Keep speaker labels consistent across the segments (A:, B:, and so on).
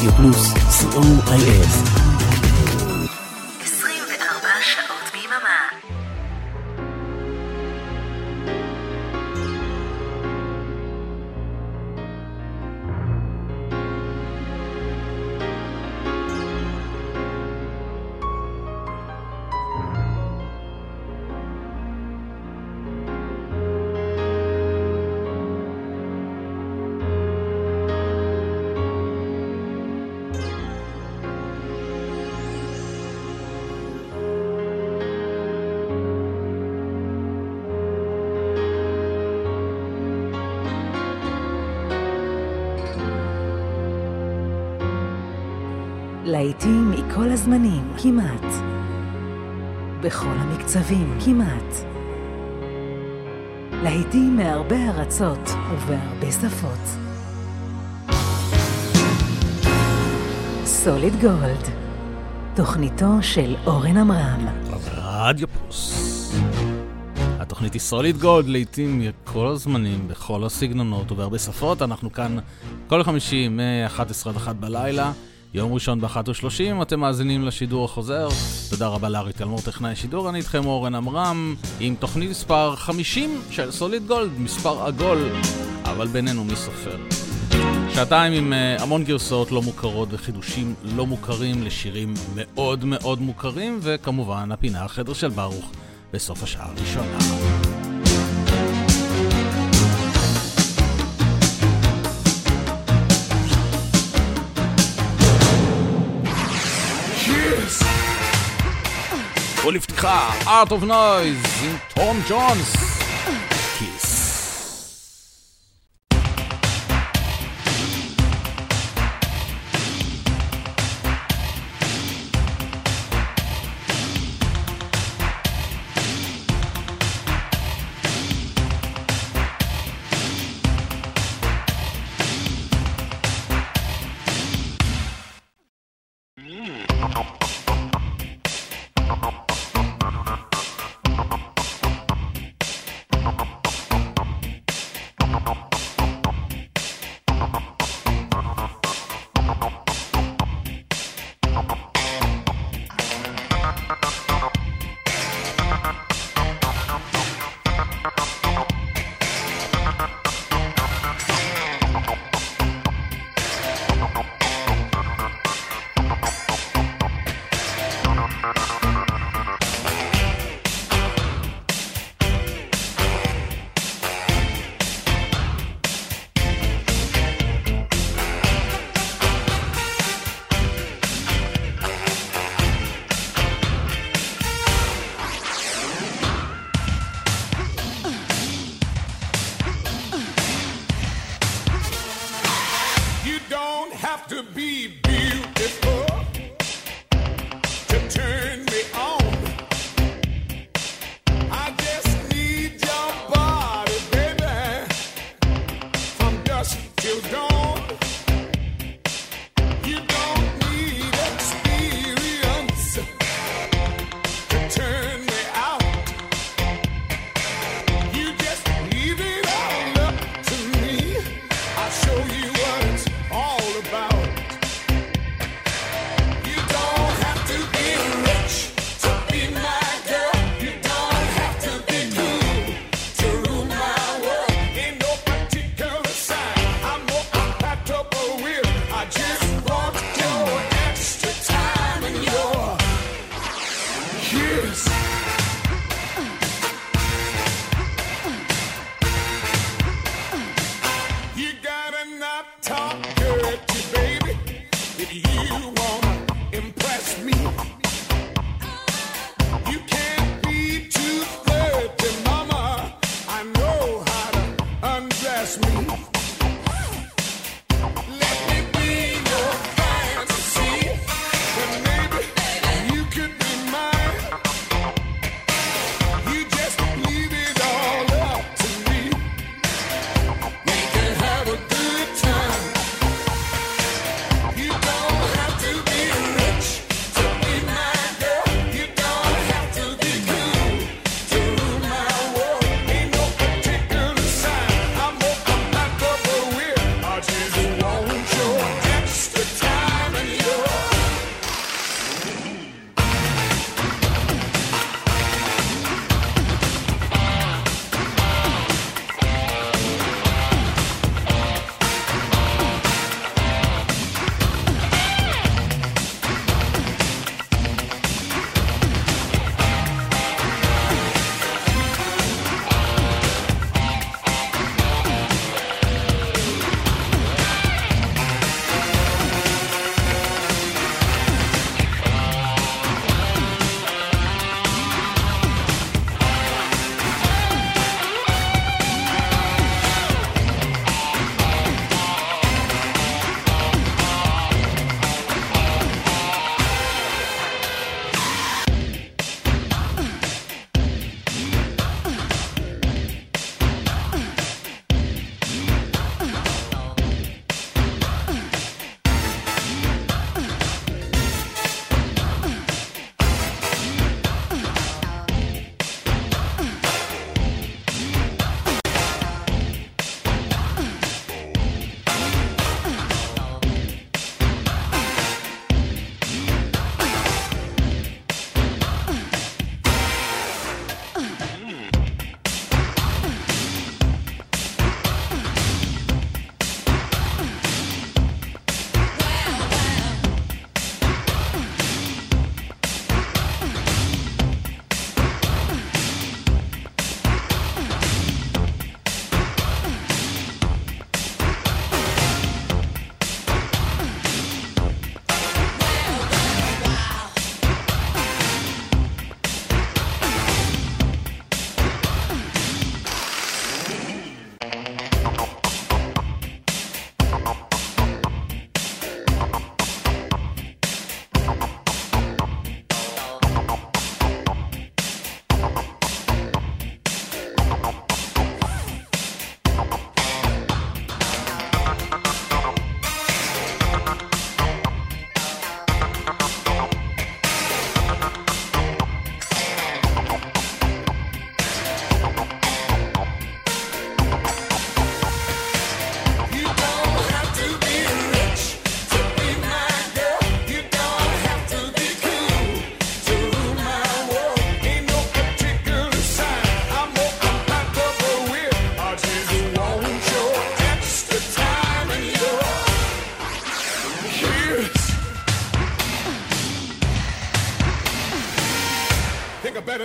A: רדיו פלוס, COIS.
B: 24 שעות ביממה.
C: להיטים מכל הזמנים, כמעט. בכל המקצבים, כמעט. להיטים מהרבה ארצות ובהרבה שפות. סוליד גולד, תוכניתו של אורן עמרם.
D: רדיו פלוס. התוכנית היא סוליד גולד, להיטים מכל הזמנים, בכל הסגנונות ובהרבה שפות. אנחנו כאן כל חמישי מ-11 עד 1 בלילה. יום ראשון ב-1:30, אתם מאזינים לשידור החוזר. תודה רבה לארי תלמור, טכנאי שידור. אני איתכם אורן עמרם, עם תוכנית מספר 50 של סוליד גולד, מספר עגול, אבל בינינו מי סופר. שעתיים עם המון גרסאות לא מוכרות וחידושים לא מוכרים לשירים מאוד מאוד מוכרים, וכמובן הפינה החדר של ברוך בסוף השעה הראשונה. ולפתיחה, Art of Noise עם תום ג'ונס, Kiss.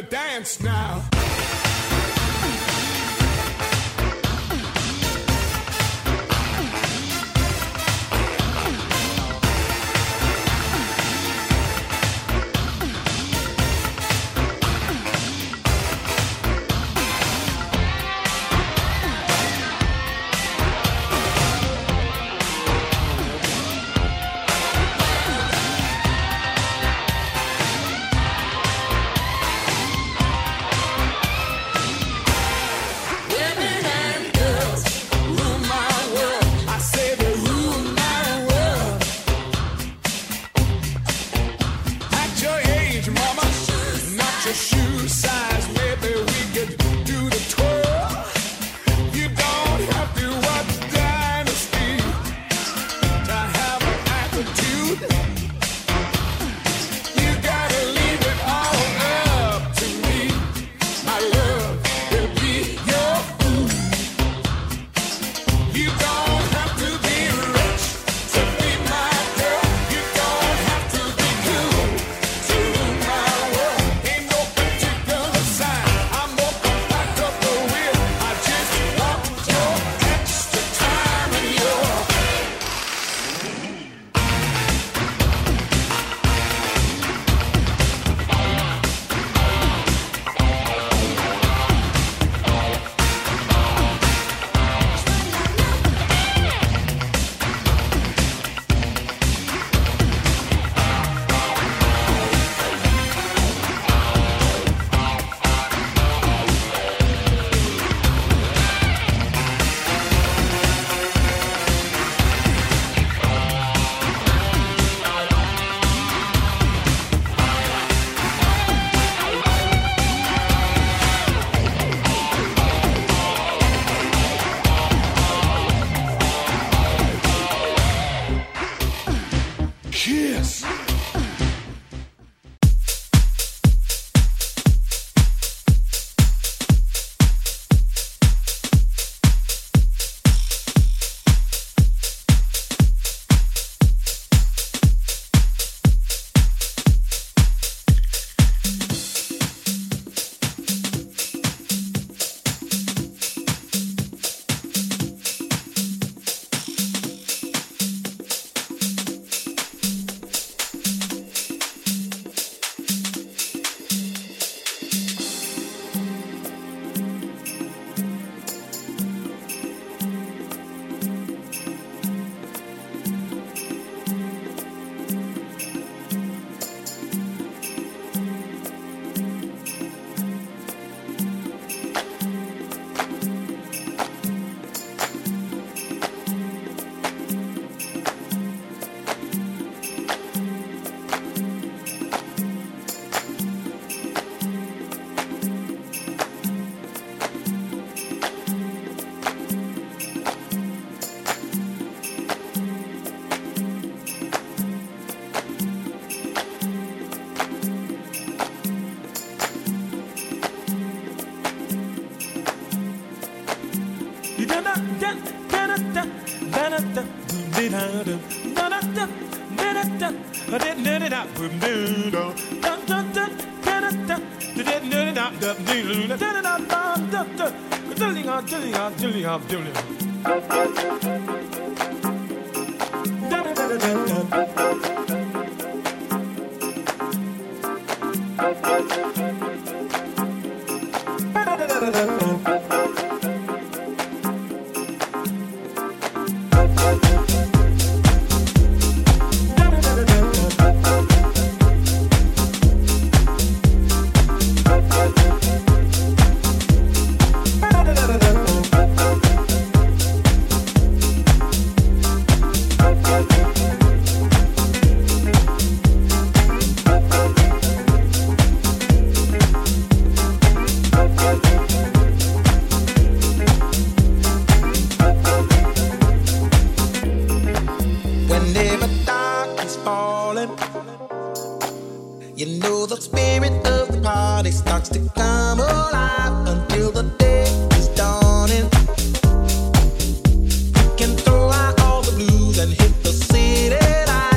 E: dance now.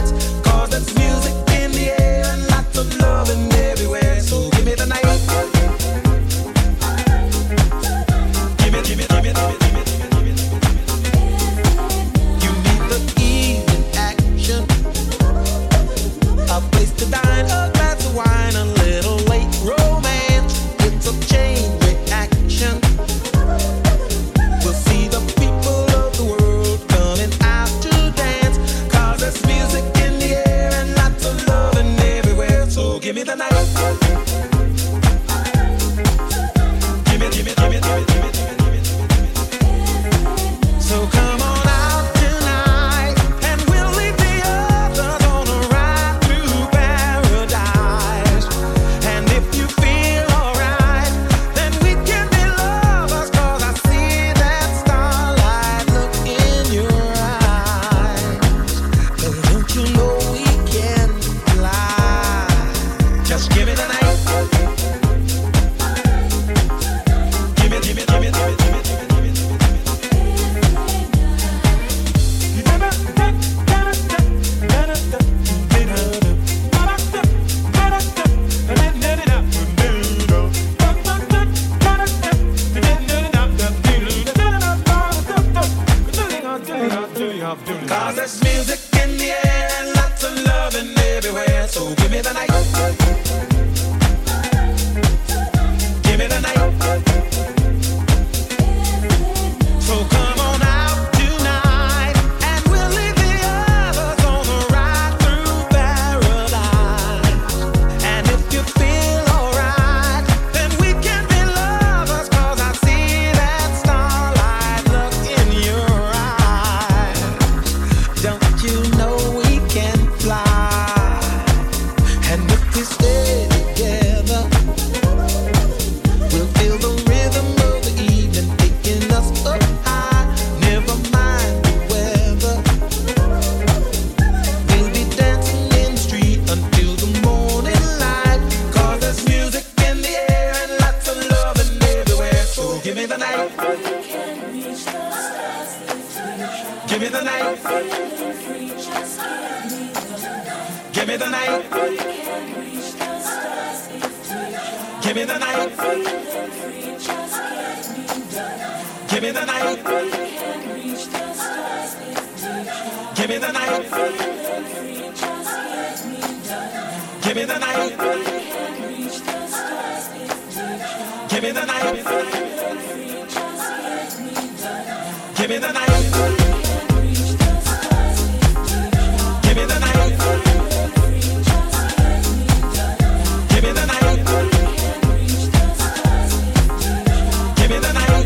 F: Everywhere, so give me the night.
E: me the night. Give it, give it, give it, give it, give it, give it, give it, give it. So come on out tonight, and we'll leave the others on a ride through paradise. And if you feel alright, then we can be lovers, 'cause I see that starlight look in your eyes. And don't you know we can fly? Just give me the night. Give it, give it, give it, give it, give it, give it, give it, give it. Cause there's music in the air and lots of loving everywhere. So give me the night. Give me the night. So come on out tonight, and we'll leave the others on a ride through paradise. And if you feel alright, then we can be lovers, 'cause I see that starlight look in your eyes. Don't you know we can fly? And if we stay together, we'll feel the rhythm of the evening taking us up high. Never mind the weather. We'll be dancing in the street until the morning light. 'Cause there's music in the air and lots of loving everywhere. So give me the night. Give me the night. Give me the night. Give me the night. Give me the night. Give me the night. Give me the night. Give me the night. Give me the night. Give me the night. Give me the night. Give me the night. Give me the night.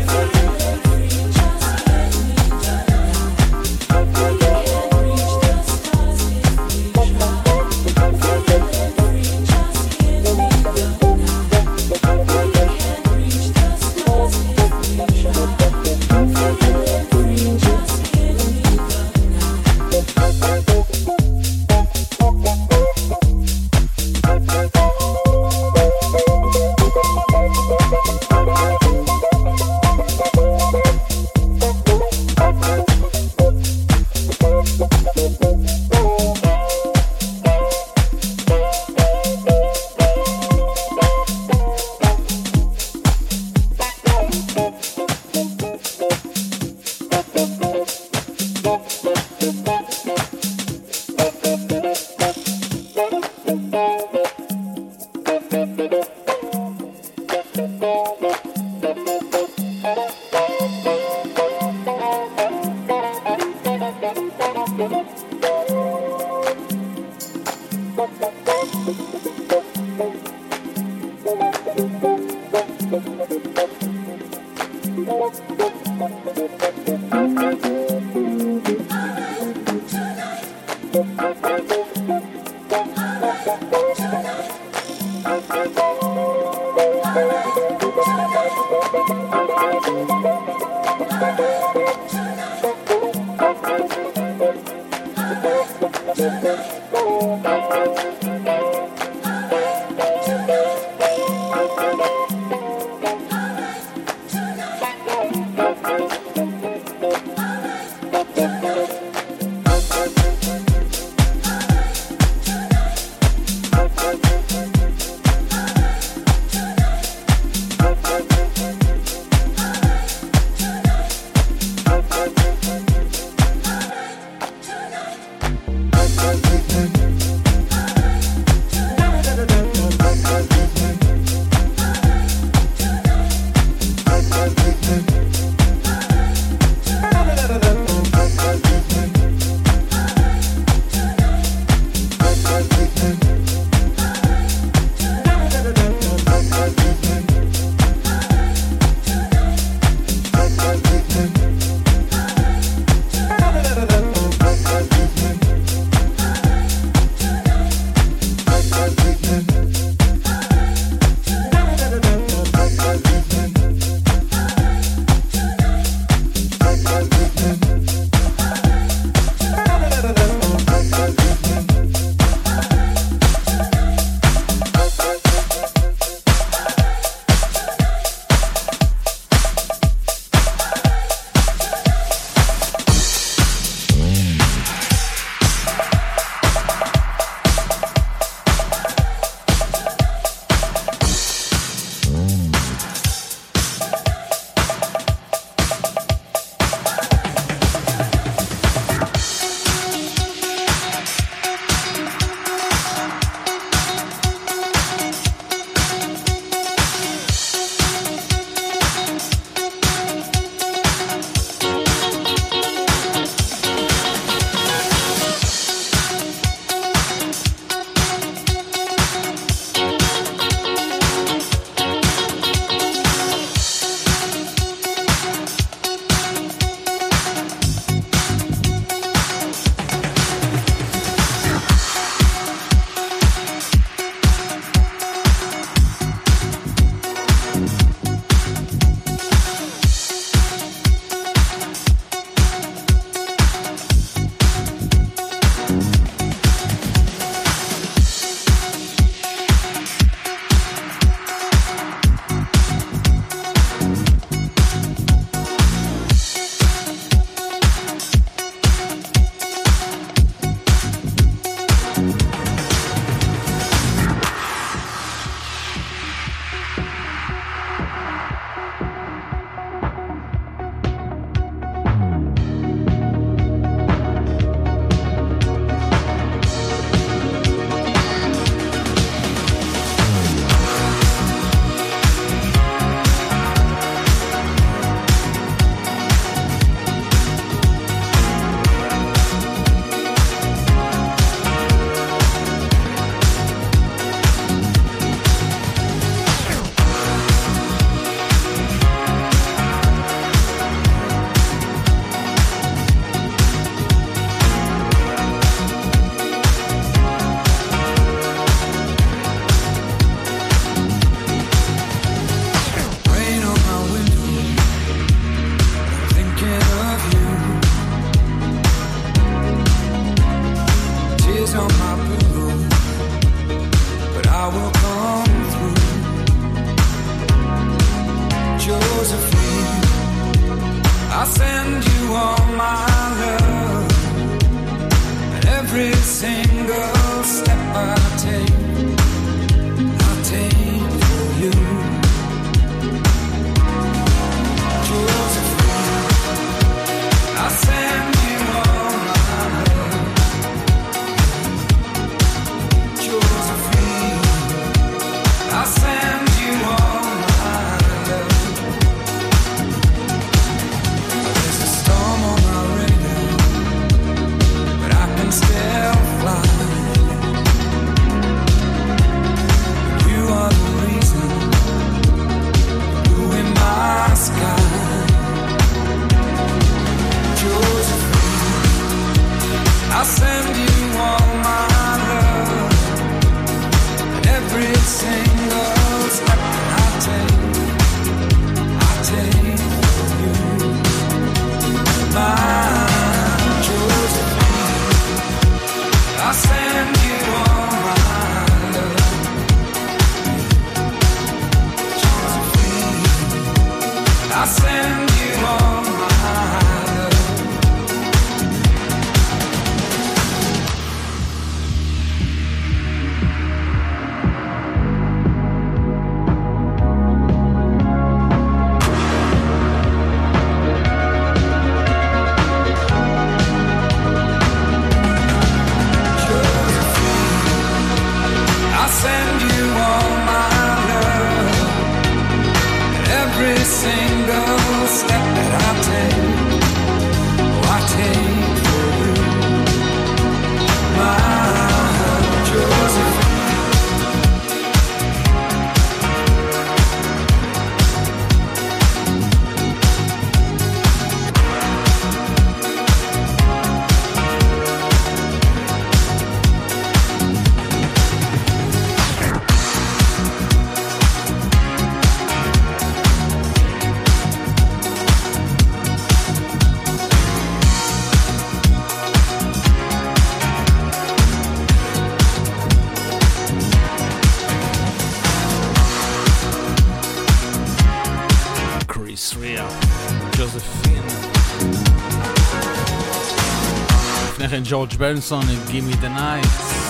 D: לפני כן ג'ורג' בנסון, Give Me the Night.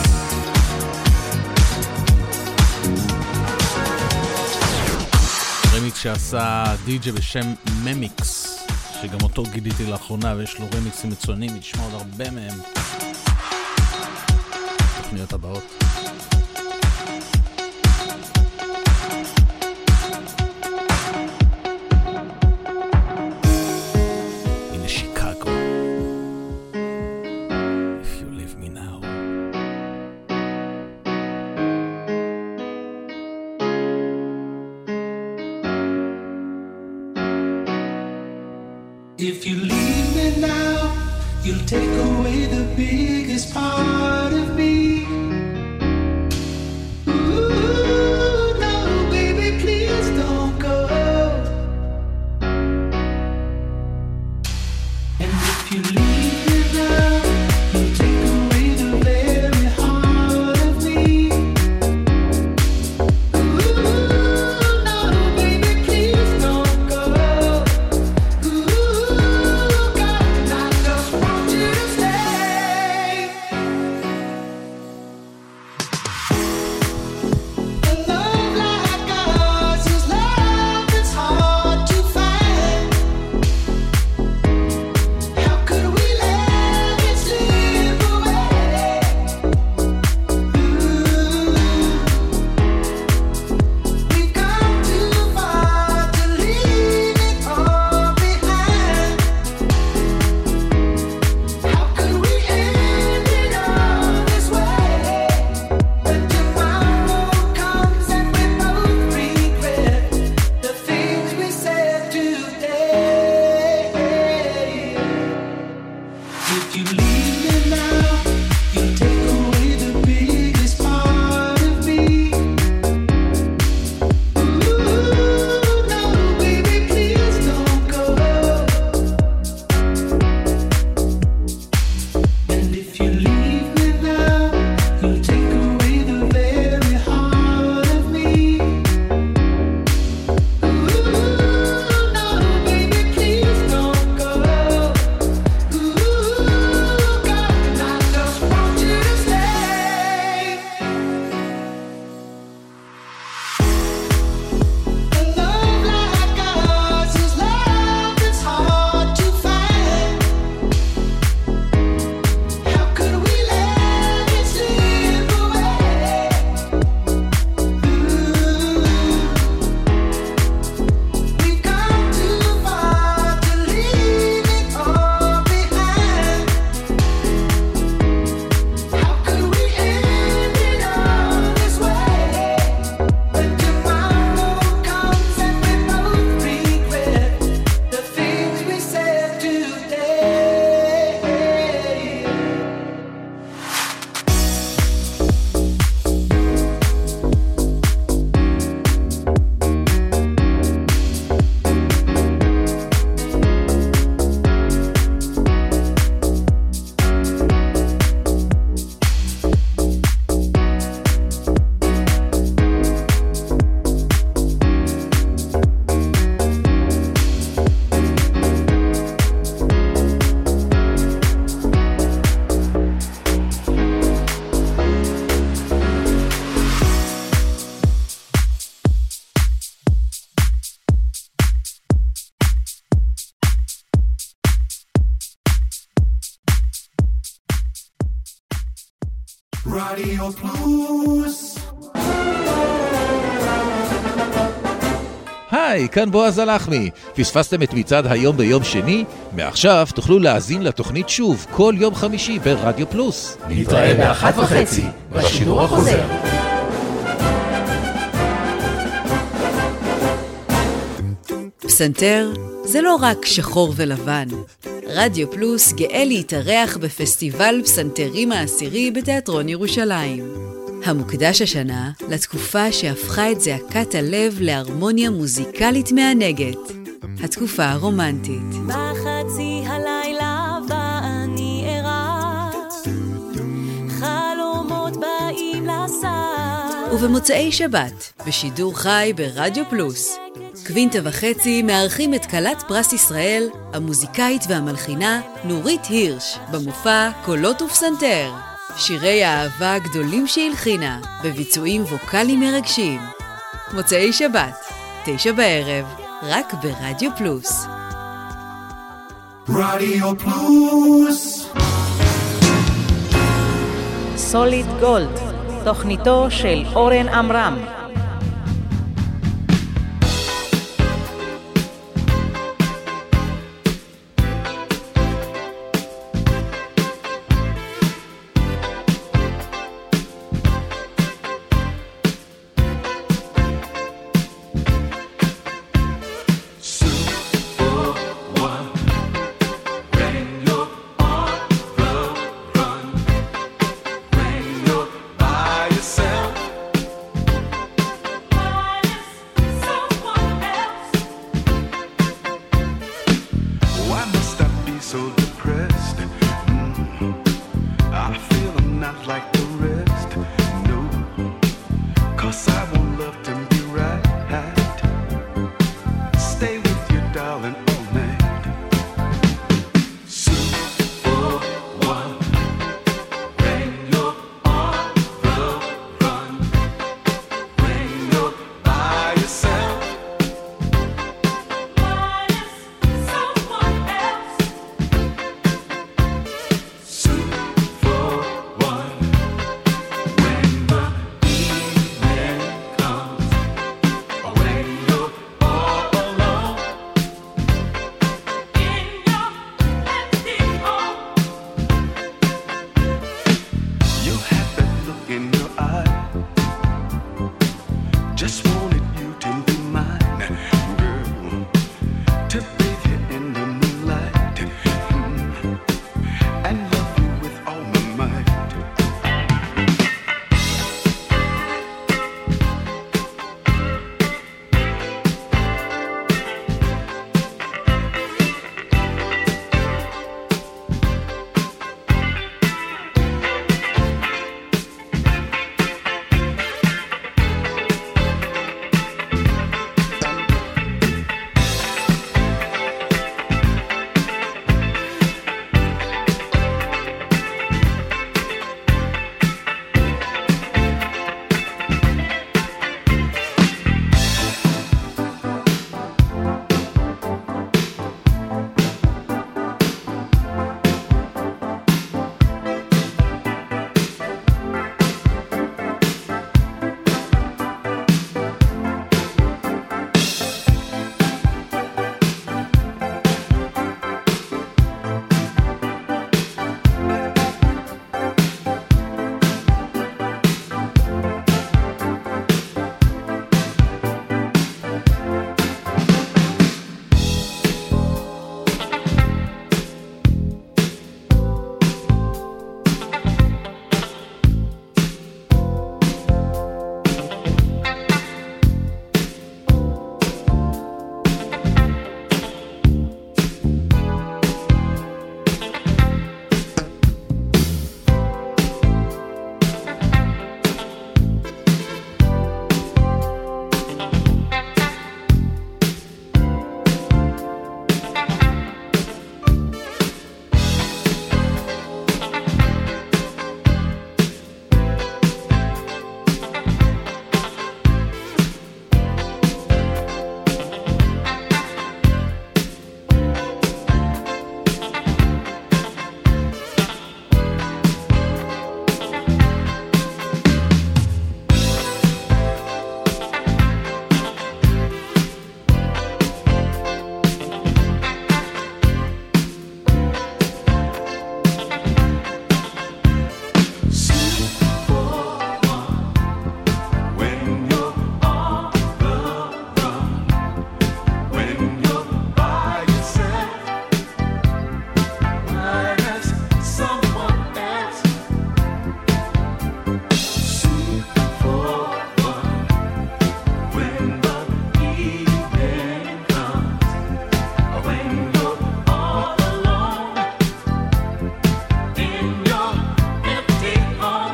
D: רמיקס שעשה די-ג'י בשם ממיקס, שגם אותו גיליתי לאחרונה, ויש לו רמיקסים מצוינים, נשמע עוד הרבה מהם. תוכניות הבאות.
E: If you leave me now, you'll take away the biggest part of me. Ooh, no, baby, please don't go. And if you leave me now, you'll take away the very heart of me. Ooh, no, baby, please don't go. רדיו פלוס.
F: היי, כאן בועז הלחמי. פספסתם את מצעד היום ביום שני? מעכשיו תוכלו להאזין לתוכנית שוב כל יום חמישי ברדיו פלוס.
A: נתראה ב-1:30 בשידור החוזר.
C: פסנתר זה לא רק שחור ולבן. רדיו פלוס גאה להתארח בפסטיבל פסנתרים העשירי בתיאטרון ירושלים. המוקדש השנה לתקופה שהפכה את זעקת הלב להרמוניה מוזיקלית מענגת. התקופה הרומנטית.
G: בחצי הלילה ואני ערה, חלומות באים לסע.
C: ובמוצאי שבת, בשידור חי ברדיו פלוס. קווינטה וחצי מארחים את כלת פרס ישראל, המוזיקאית והמלחינה נורית הירש, במופע קולות ופסנתר. שירי האהבה הגדולים שהלחינה, בביצועים ווקליים מרגשים. מוצאי שבת, 9 בערב, רק ברדיו פלוס.
A: רדיו פלוס.
H: סוליד גולד, תוכניתו של אורן עמרם.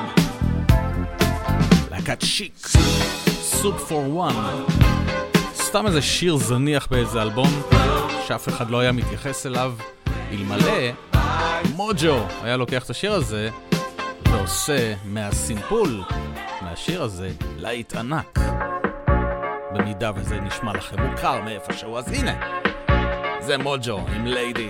D: להקת שיק, סוג פור וואן, סתם איזה שיר זניח באיזה אלבום שאף אחד לא היה מתייחס אליו, אלמלא מוג'ו היה לוקח את השיר הזה ועושה מהסימפול מהשיר הזה להיט ענק. במידה וזה נשמע לכם מוכר מאיפשהו, אז הנה, זה מוג'ו עם ליידי.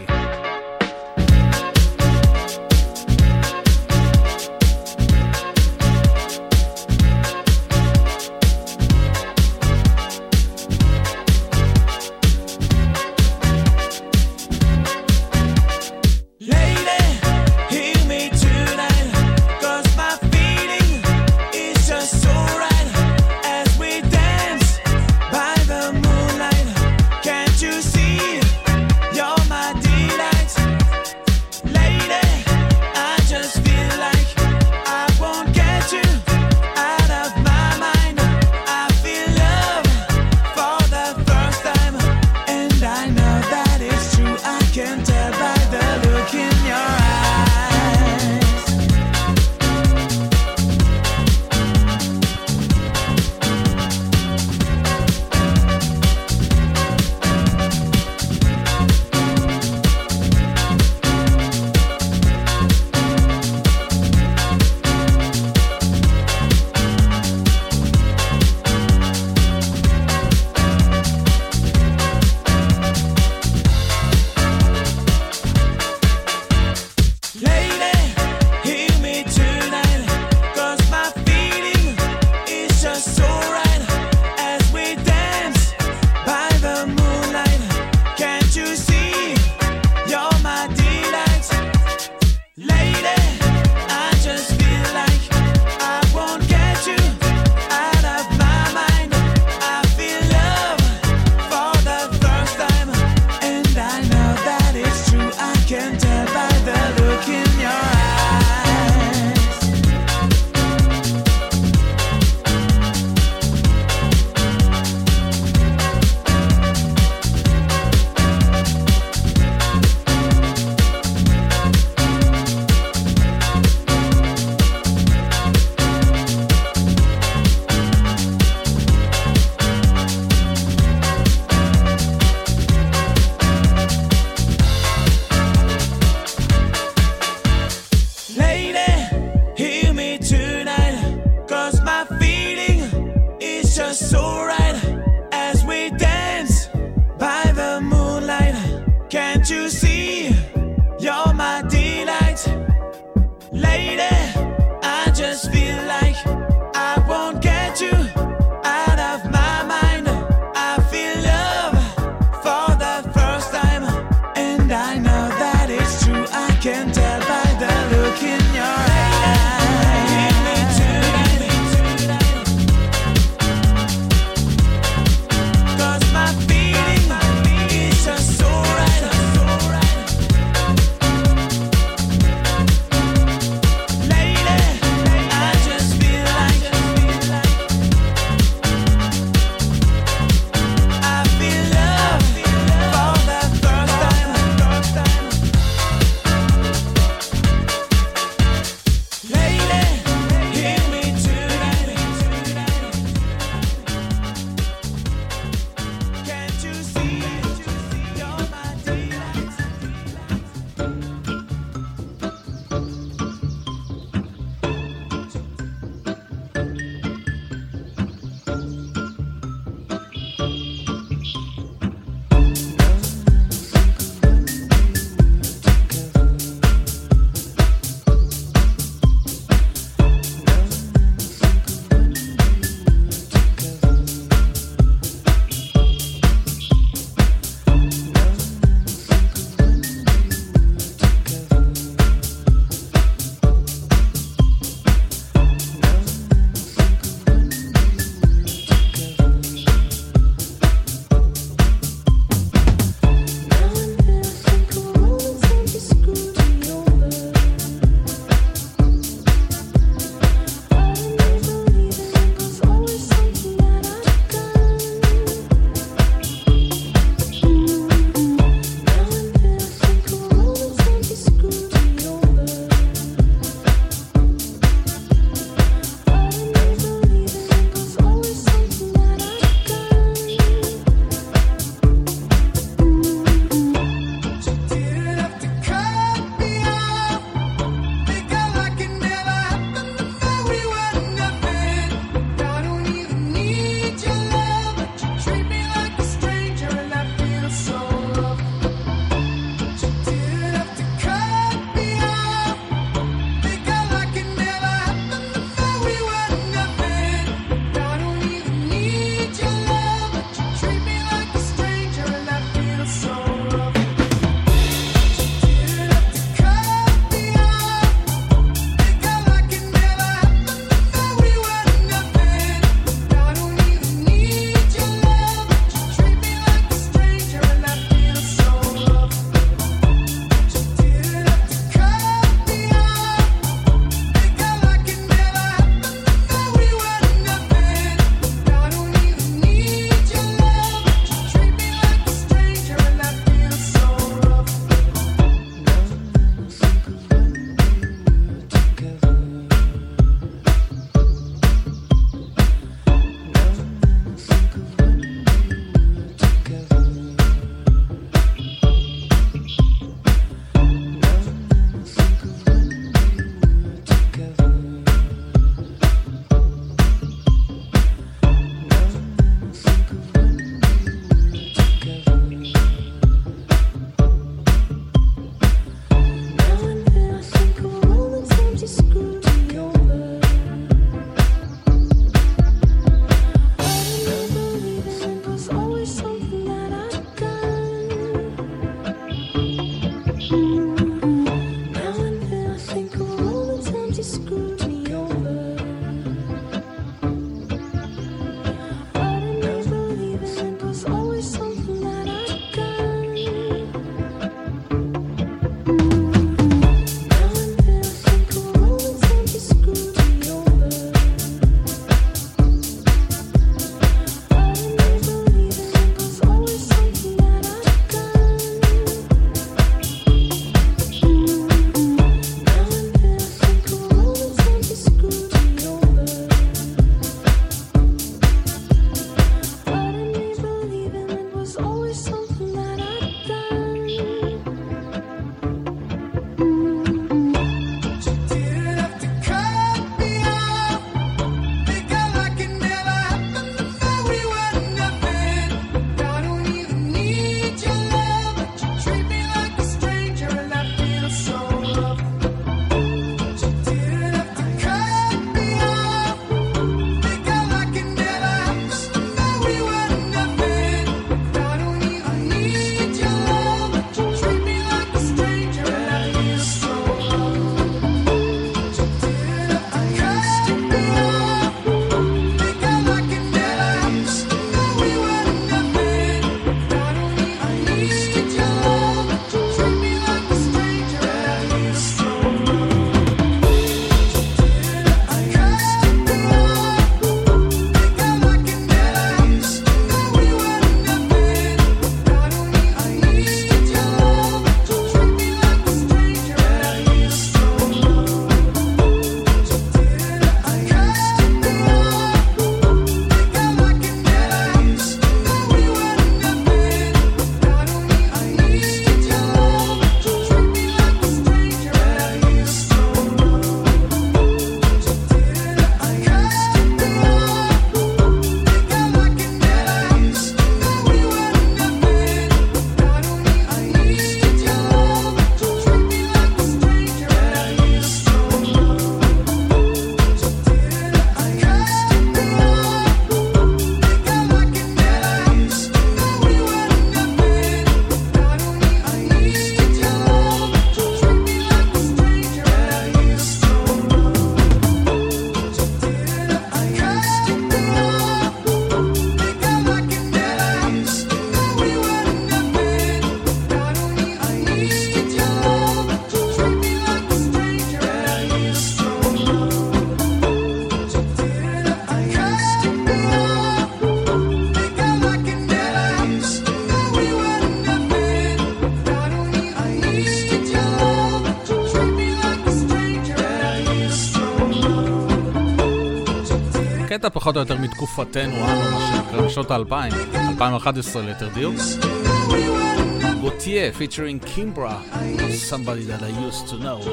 D: קטע פחות או יותר מתקופתנו, מה שנקרא שנות ה-2000, 2011 ליתר דיוק. גוטייה, featuring Kimbra, somebody that I used to know.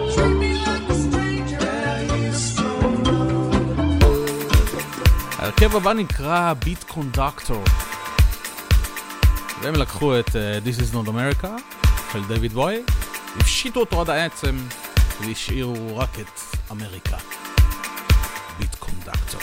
D: ההרכב הבא נקרא Beat Conductor. והם לקחו את This is not America של דיוויד בוי, הפשיטו אותו עד העצם והשאירו רק את אמריקה. Beat Conductor.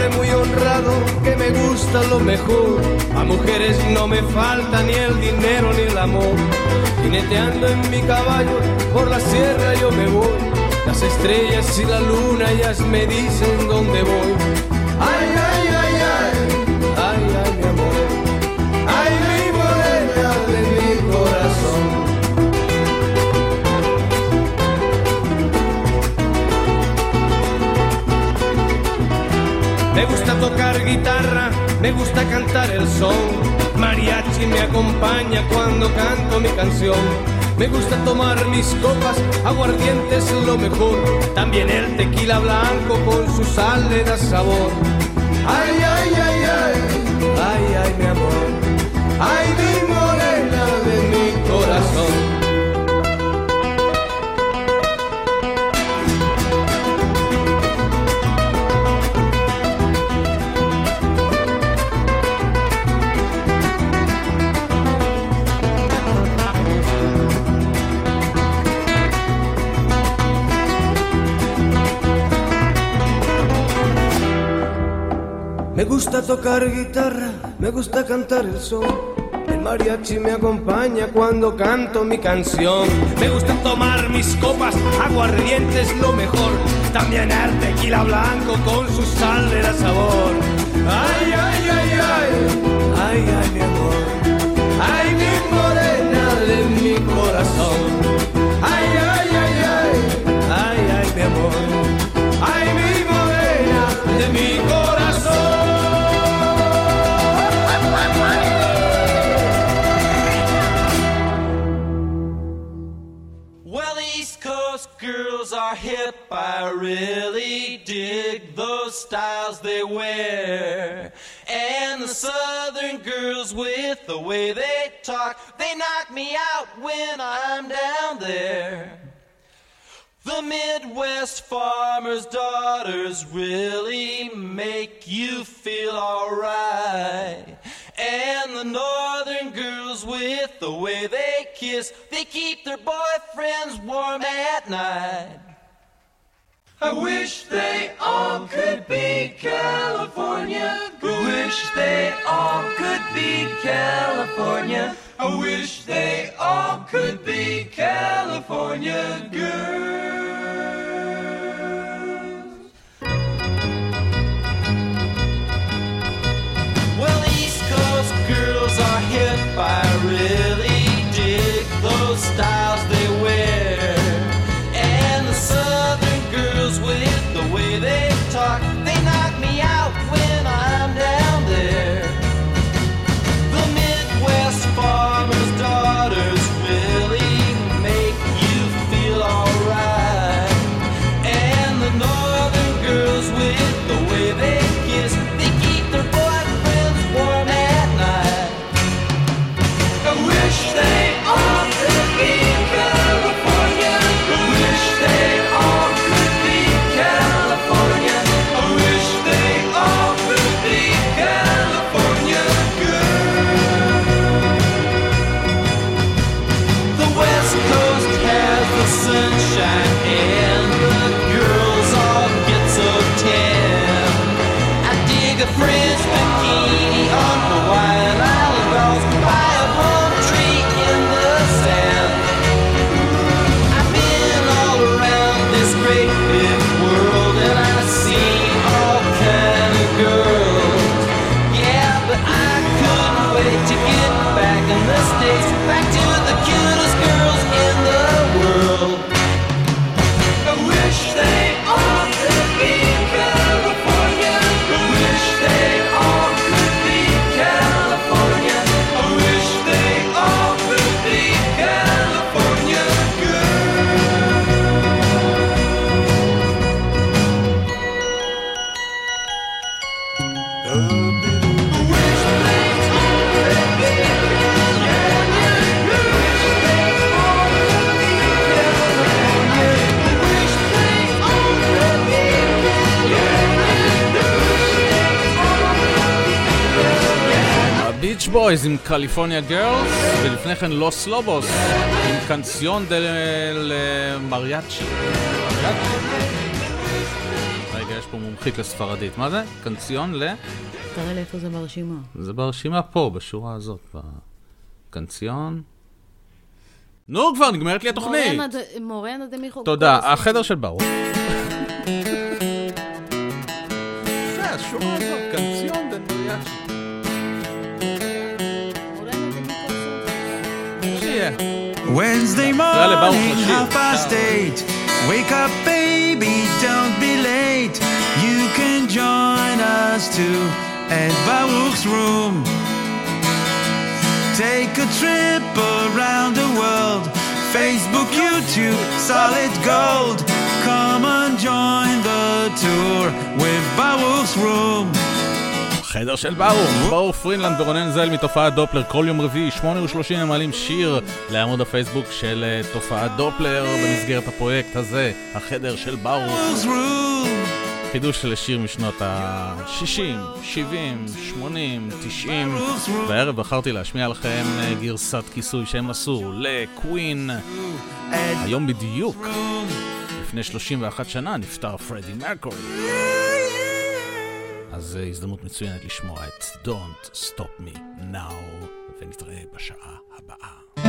I: hombre muy honrado que me gusta lo mejor. A mujeres no me falta ni el dinero ni el amor. Jineteando en mi caballo por la sierra yo me voy. Las estrellas y la luna ellas me dicen dónde voy. Ay, ay, ay, ay, ay, ay, mi amor. Ay, mi morena de mi corazón. Me gusta tocar guitarra, me gusta cantar el son. Mariachi me acompaña cuando canto mi canción. Me gusta tomar mis copas, aguardiente es lo mejor. También el tequila blanco con su sal le da sabor. Ay, ay, ay, ay, ay, ay, mi amor. Ay, mi morena de mi corazón. Me gusta tocar guitarra, me gusta cantar el son. El mariachi me acompaña cuando canto mi canción. Me gusta tomar mis copas, aguardiente es lo mejor. También el tequila blanco con su sal le da sabor. Ay, ay, ay, ay, ay, ay, mi amor. Ay, mi morena de mi corazón. Ay, ay, ay, ay, ay, ay, mi amor. Ay, mi morena de mi corazón.
E: Girls are hip, I really dig those styles they wear. And the southern girls with the way they talk, they knock me out when I'm down there. The Midwest farmers' daughters really make you feel alright. And the northern girls with the way they kiss, they keep their boyfriends warm at night. I wish they all could be California. I wish they all could be California. I wish they all could be California girls. Well, East Coast girls are hip, I really dig those styles they wear. And the Southern girls with the way they talk, they knock me out when I'm down there. The Midwest farmers' daughters really make you feel alright. And the Northern girls with the way they kiss, they keep their boyfriends warm at night. I wish they all could be California. I wish they all could be California. I wish they all could be California girls. The West Coast has the sunshine and the girls all get so tan. I dig a French bikini on Hawaiian Island girls by a palm tree in the sand. I've been all around this great big world and I've seen all kind of girls. Yeah, but I couldn't wait to get back in the States, back to the cutest girls in the world. I wish they all could be California. I wish they all could be California. I wish they all could be California girls. I wish they all could be California. I wish they all could be California. I wish they all could be California.
D: הביץ' בויז עם קליפורניה גרלס, ולפני כן לוס לובוס עם קנציון דל מריאצ'י. רגע, יש פה מומחית לספרדית. מה זה? קנציון ל...
C: תראה לאיפה זה ברשימה.
D: זה ברשימה פה, בשורה הזאת. קנציון... נו, כבר נגמרת לי התוכנית.
C: מורנה דמיחו.
D: תודה, החדר של ברוך. זה השורה הזאת, קנציון דמיחו. שיהיה.
A: Wednesday morning, 8:30. Wake up, baby, don't be late. You can join us too at Baruch's room. Take a trip around the world. Facebook, YouTube, Solid Gold. Come and join the tour with Baruch's room.
D: חדר של ברוך פרינלנד ורונן זל מתופעת דופלר. כל יום רביעי 8:30 הם מעלים שיר לעמוד הפייסבוק של תופעת דופלר במסגרת הפרויקט הזה, החדר של ברוך. חידוש של שיר משנות ה-60, 70, 80, 90. והערב בחרתי להשמיע לכם גרסת כיסוי שהם עשו לקווין. היום בדיוק לפני 31 שנה נפטר פרדי מרקורי. אז הזדמנות מצוינת לשמוע את Don't Stop Me Now, ונתראה בשעה הבאה.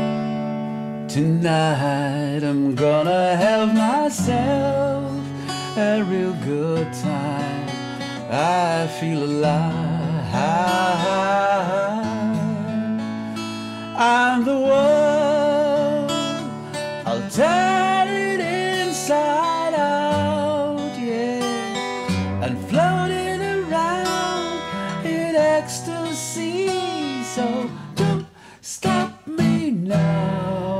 A: Tonight I'm gonna have myself a real good time. I feel alive. I'm the world. I'll turn it inside out, yeah, and float it around in ecstasy. So don't stop me now.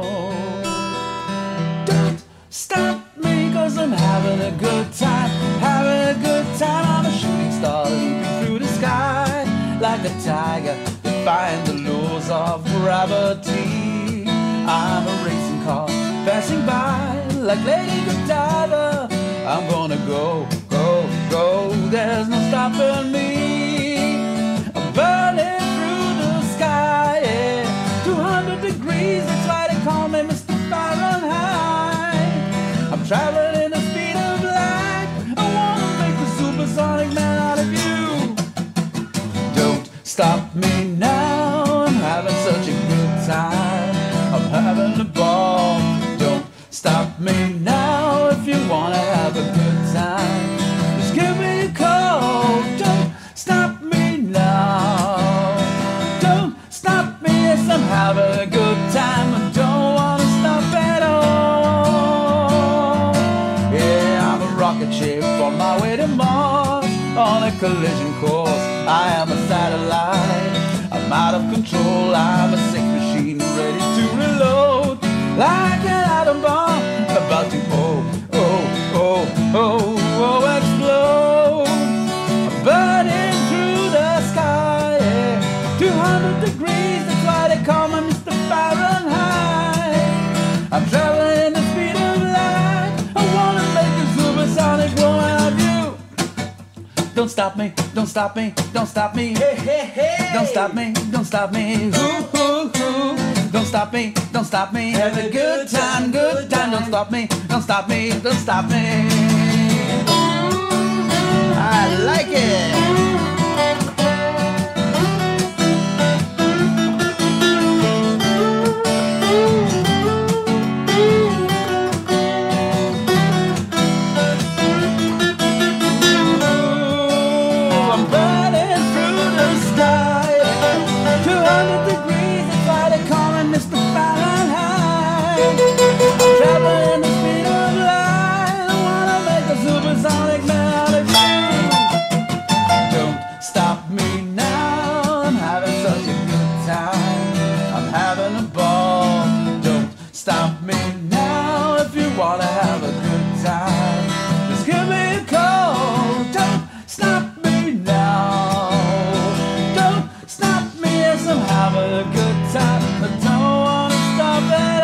A: Don't stop me, 'cause I'm having a good time. Having a good time. I'm a shooting star leaping through the sky like a tiger, defying the laws of gravity. I'm a racing car passing by like Lady Godiva. I'm gonna go, go, go. There's no stopping me. I'm burning through the sky, yeah. 200 degrees, that's why they call me Mr. Fahrenheit. I'm traveling in the speed of light. I wanna make a supersonic man out of you. Don't stop me now. I'm having such a good time. I'm having a ball. Don't stop me now. If you wanna have a good time, just give me a call. Don't stop me now. Don't stop me. Yes, I'm having a good time. I don't wanna stop at all. Yeah, I'm a rocket ship on my way to Mars, on a collision course. I am a satellite. I'm out of control. I'm a sick machine ready to reload, like an atom bomb about to explode. I'm burning through the sky, yeah. 200 degrees, that's why they call me Mr. Fahrenheit. I'm traveling in the speed of light. I wanna make a supersonic woman of you. Don't stop me, don't stop me, don't stop me. Hey, hey, hey. Don't stop me, don't stop me. Ooh, ooh, ooh. Don't stop me, don't stop me. Have a good time, good time. Don't stop me, don't stop me, don't stop me. I like it. I'm burning through the sky. 200 degrees, that's why they call me Mr. Fahrenheit. I'm traveling the speed of light. I wanna make a supersonic man out of you. Don't stop me now. I'm having such a good time. I'm having a ball. Don't stop me now. If you wanna have a good time, just give me a call. Don't stop me now. Don't stop me as I'm having a good time. I don't wanna stop at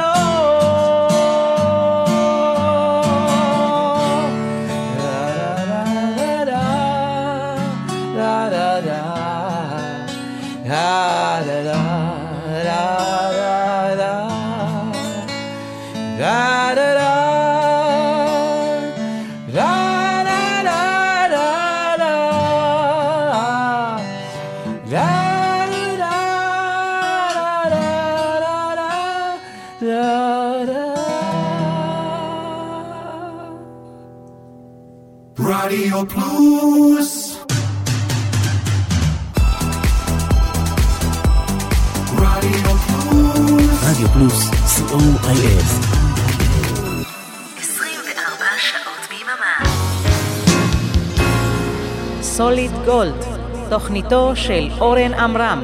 A: all. Da da da da da da da da da da da da da da da.
J: רדיו פלוס. רדיו פלוס.
K: רדיו פלוס, co.il.
B: 24 שעות ביממה.
H: סוליד גולד, תוכניתו של אורן עמרם.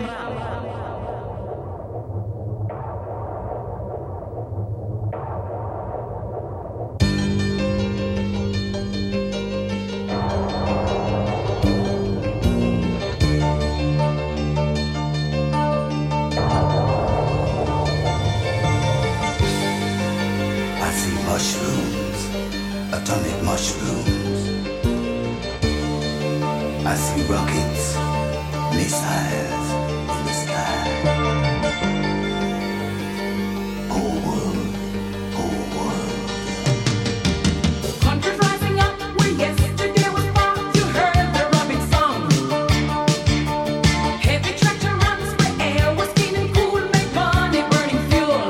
J: Mushrooms, atomic mushrooms. I see rockets, missiles in the sky. Whole world, whole world.
L: Countries rising up where yesterday was far. You heard the rubbing song. Heavy tractor runs where air was clean and cool. Make money burning fuel.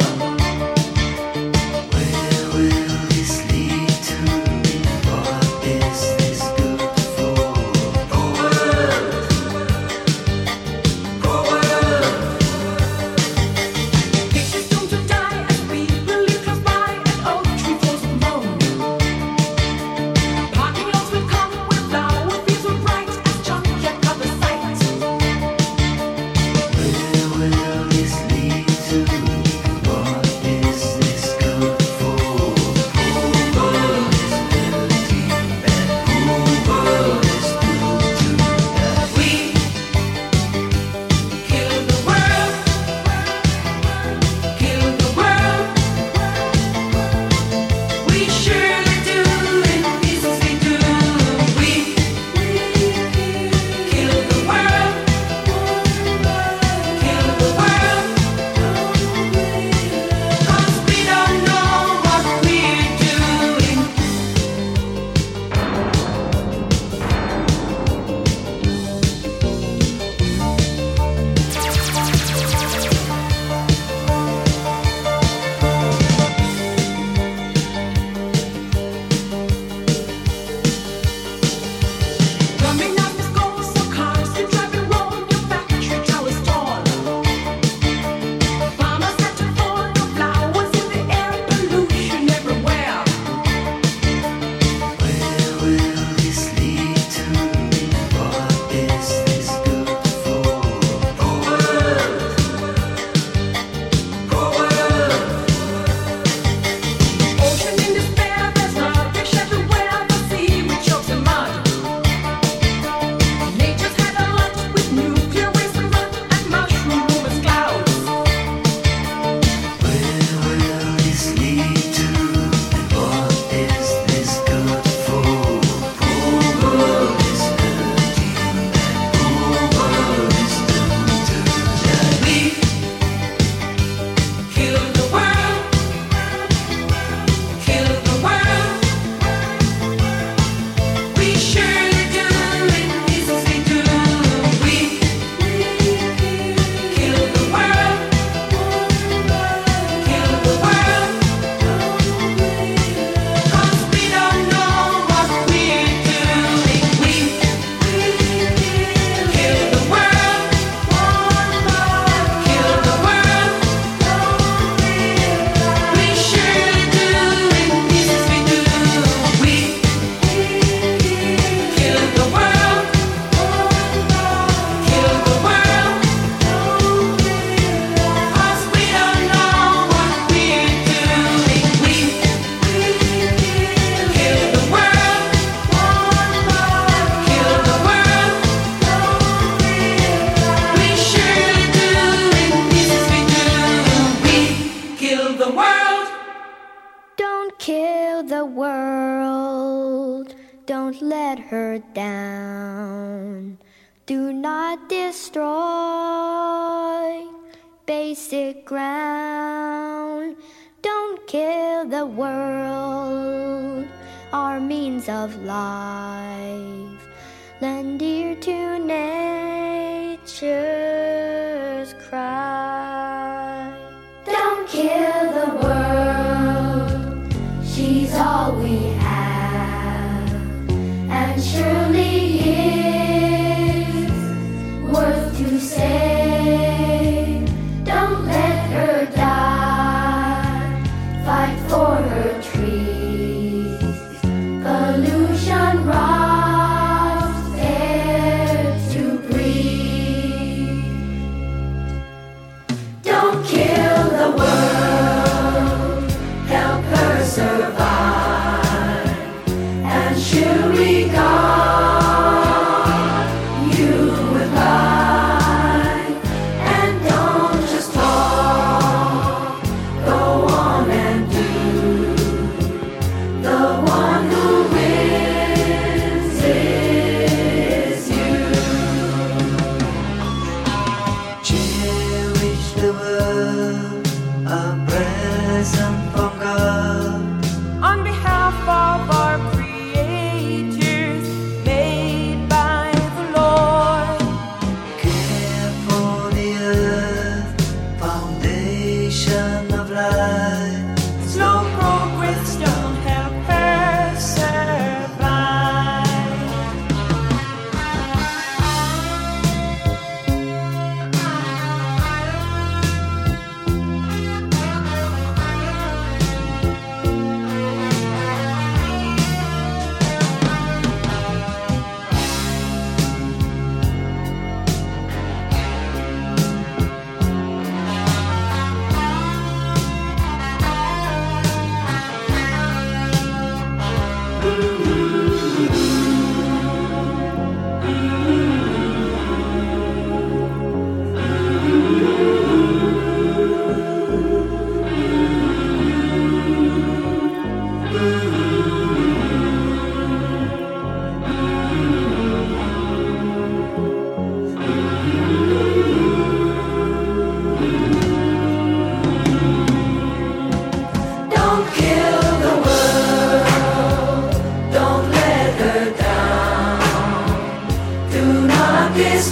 M: Basic ground. Don't kill the world, our means of life. Lend ear to nature's cry. Don't kill the world, she's all we have, and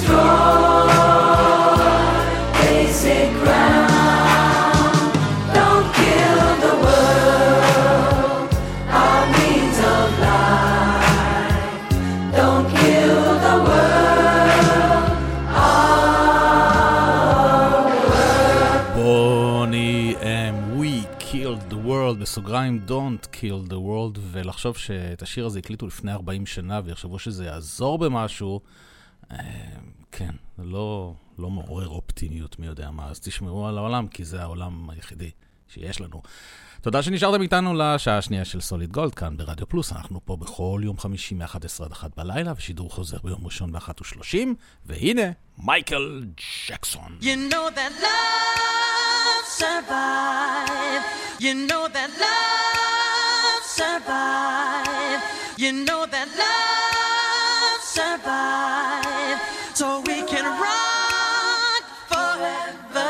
L: basic ground. Don't kill the world, our means of life. Don't kill the world, our world.
D: בוני We Killed the World, בסוגריים Don't Kill the World, ולחשוב שאת השיר הזה הקליטו לפני 40 שנה ויחשבו שזה יעזור במשהו, כן, לא מעורר אופטימיות, מי יודע מה, אז תשמעו על העולם, כי זה העולם היחידי שיש לנו. תודה שנשארתם איתנו לשעה השנייה של סוליד גולד, כאן ברדיו פלוס. אנחנו פה בכל יום חמישי מ-11 עד 1 בלילה, ושידור חוזר ביום ראשון ב-1:30, והנה, מייקל ג'קסון.
E: You know that love survive. You know that love survive. You know that love survive. So we can rock forever.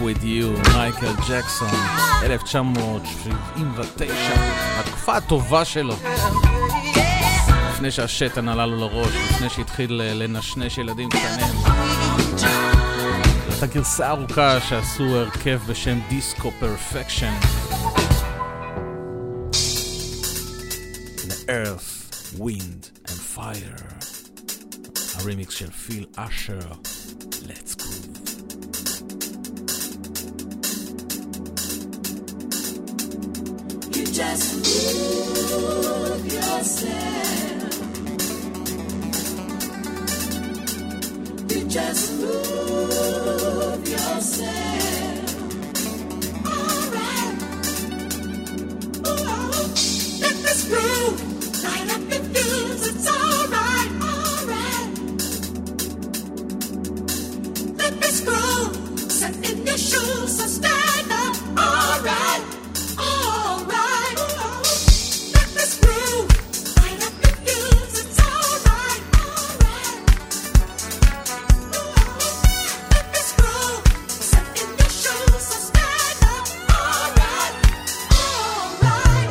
D: With You, מייקל ג'קסון, 1979, התקופה הטובה שלו. לפני שהשטן עלה לו לראש, לפני שהתחיל לנשנש ילדים קטנים. זאת הגרסה ארוכה שעשו הרכב בשם דיסקו פרפקשן. Earth, Wind and Fire. הרימיקס של פיל אשר. Let's go.
L: You just move yourself. You just move yourself. All right. Oh, let this groove light up your fuse. It's all right, all right. Let this groove set in your shoes. So stand up, all right. All right. Let this groove light up your fuse. It's all right, all right. Let this groove set in your shoes. So stand up, all right, all right.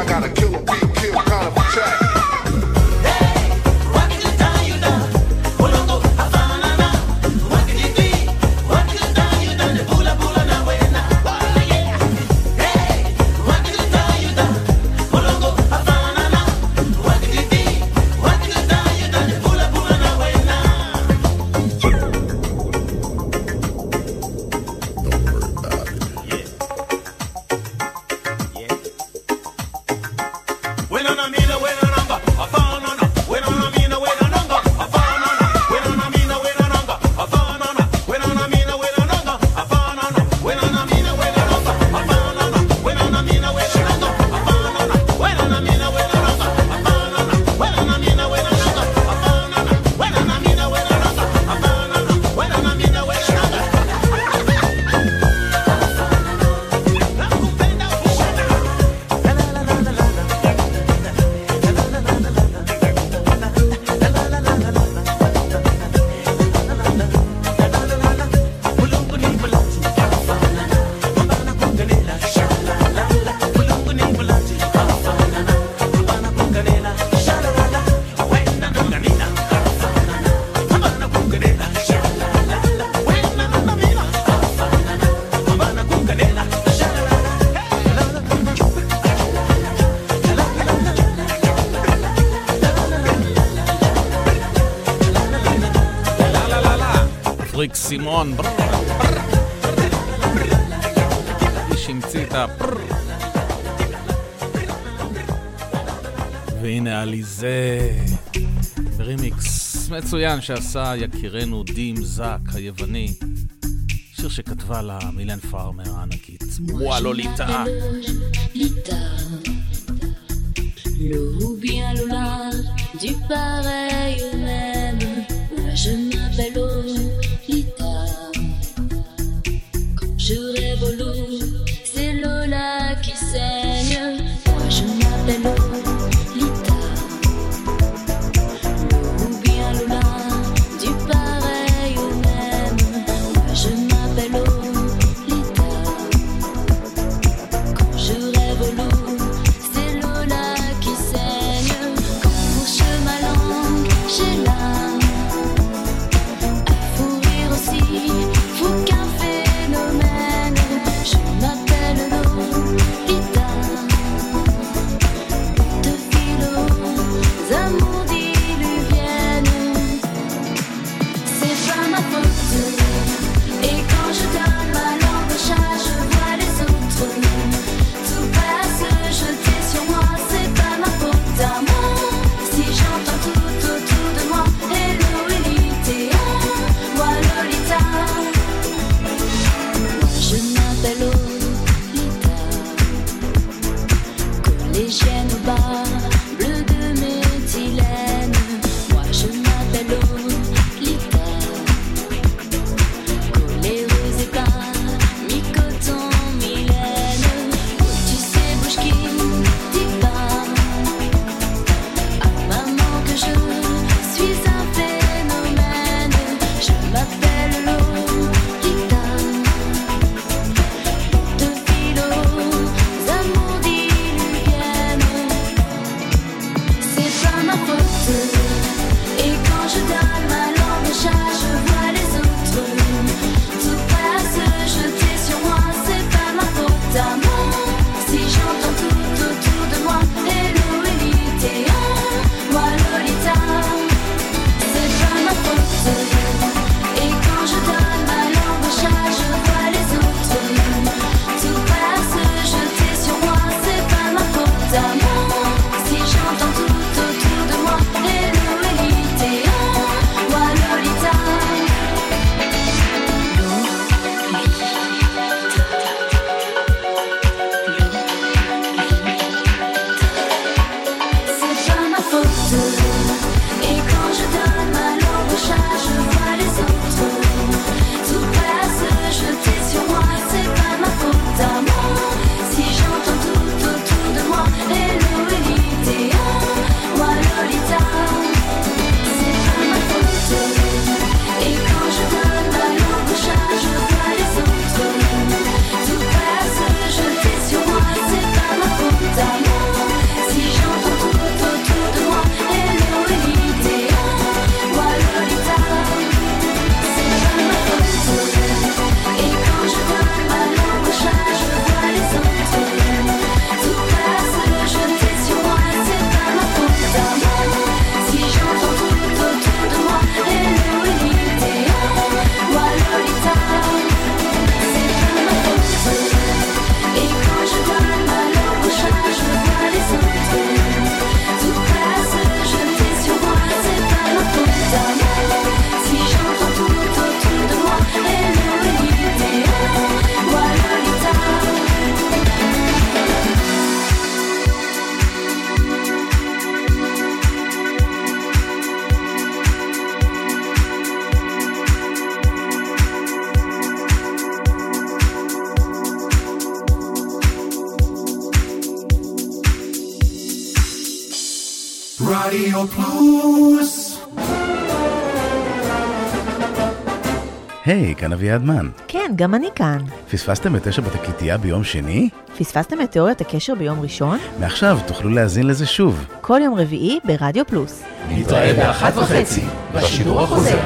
N: got a killer beat, kill kind of attack.
D: פריק סימון, איש המציא את והנה עליזה ברימיקס מצוין שעשה יקירנו דים זק היווני, שיר שכתבה לה מילן פארמר הענקית. וואו לוליטה
O: Ou bien Lola, du pareil au même. Moi je m'appelle Lolita. Quand je rêve au loup, c'est Lola qui saigne. Moi je m'appelle Lolita. Ou bien Lola, du pareil au même. Moi je m'appelle Lolita. Quand je rêve au loup, c'est Lola qui saigne. Quand je ma langue, j'ai
P: רדיו פלוס.
Q: היי, כאן אביעד מן.
R: כן, גם אני כאן.
Q: פספסתם את 9 בתקליטייה ביום שני?
R: פספסתם את תיאוריית הקשר ביום ראשון?
Q: מעכשיו תוכלו להאזין לזה שוב.
R: כל יום רביעי ברדיו פלוס.
F: נתראה ב-1:30 בשידור החוזר.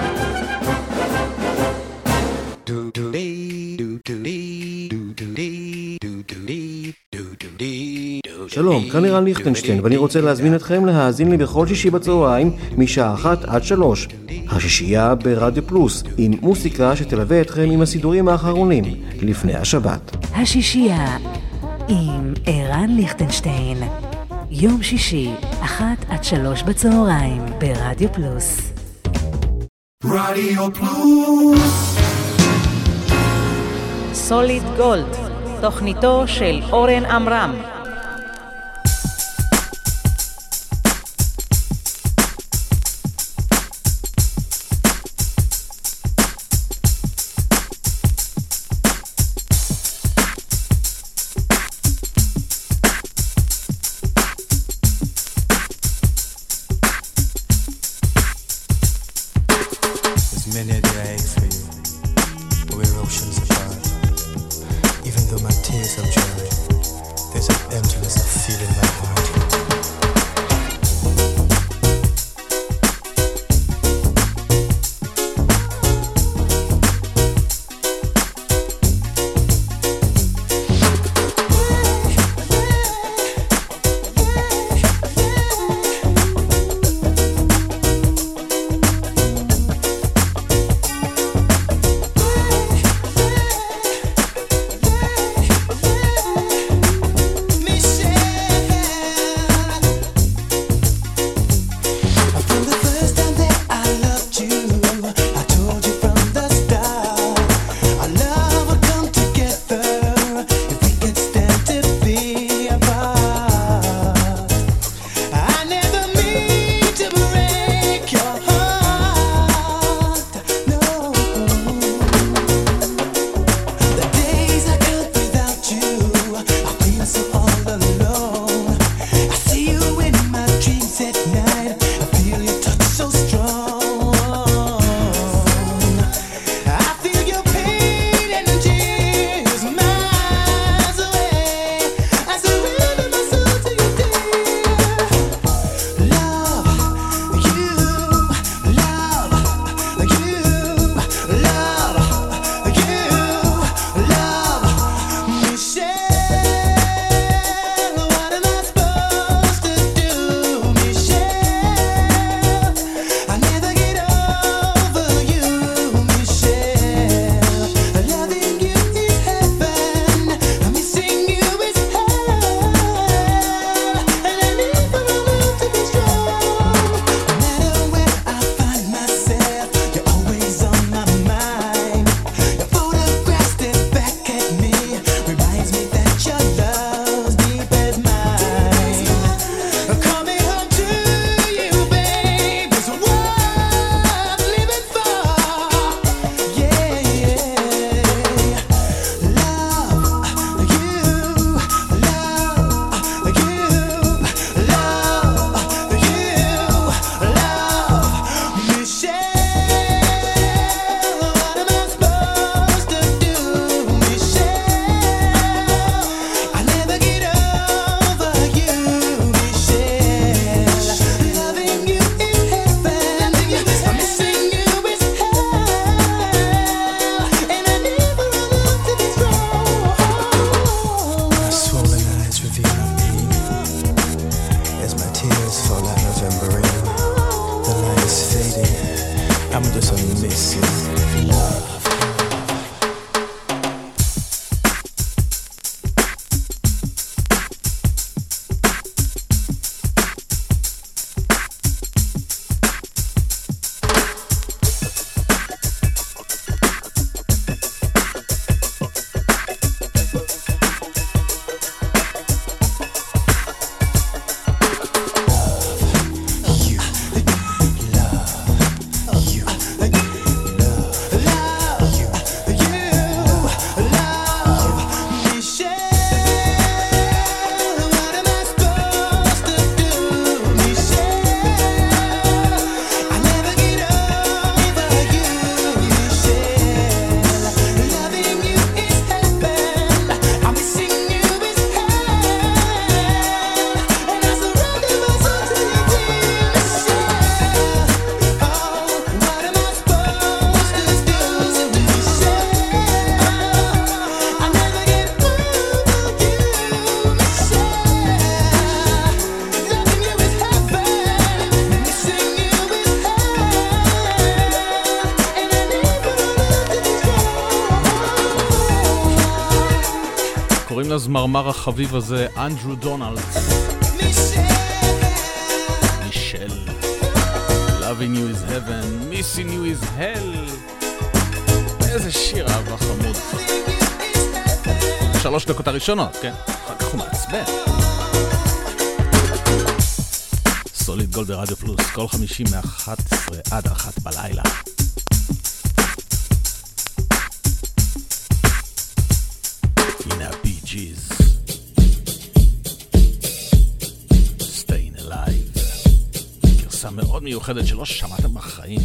S: שלום, כאן לירן ליכטנשטיין, ואני רוצה להזמין אתכם להאזין לי בכל שישי בצהריים משעה 1 עד 3. השישייה ברדיו פלוס, עם מוסיקה שתלווה אתכם עם הסידורים האחרונים לפני השבת.
C: השישייה עם ערן ליכטנשטיין, יום שישי 1 עד 3 בצהריים ברדיו פלוס.
P: רדיו פלוס.
H: סוליד גולד, תוכניתו של אורן עמרם.
D: הזמרמר החביב הזה, אנדרו דונלדס. מישל. Loving you is heaven, missing you is hell. איזה שיר אהבה חמוד. 3 דקות הראשונות, כן? אחר כך הוא מעצבן. סוליד גולד ברדיו פלוס, כל 50 מ-11 עד 1 בלילה. הנה הבי ג'יז. Staying Alive. גרסה מאוד מיוחדת שלא שמעתם בחיים.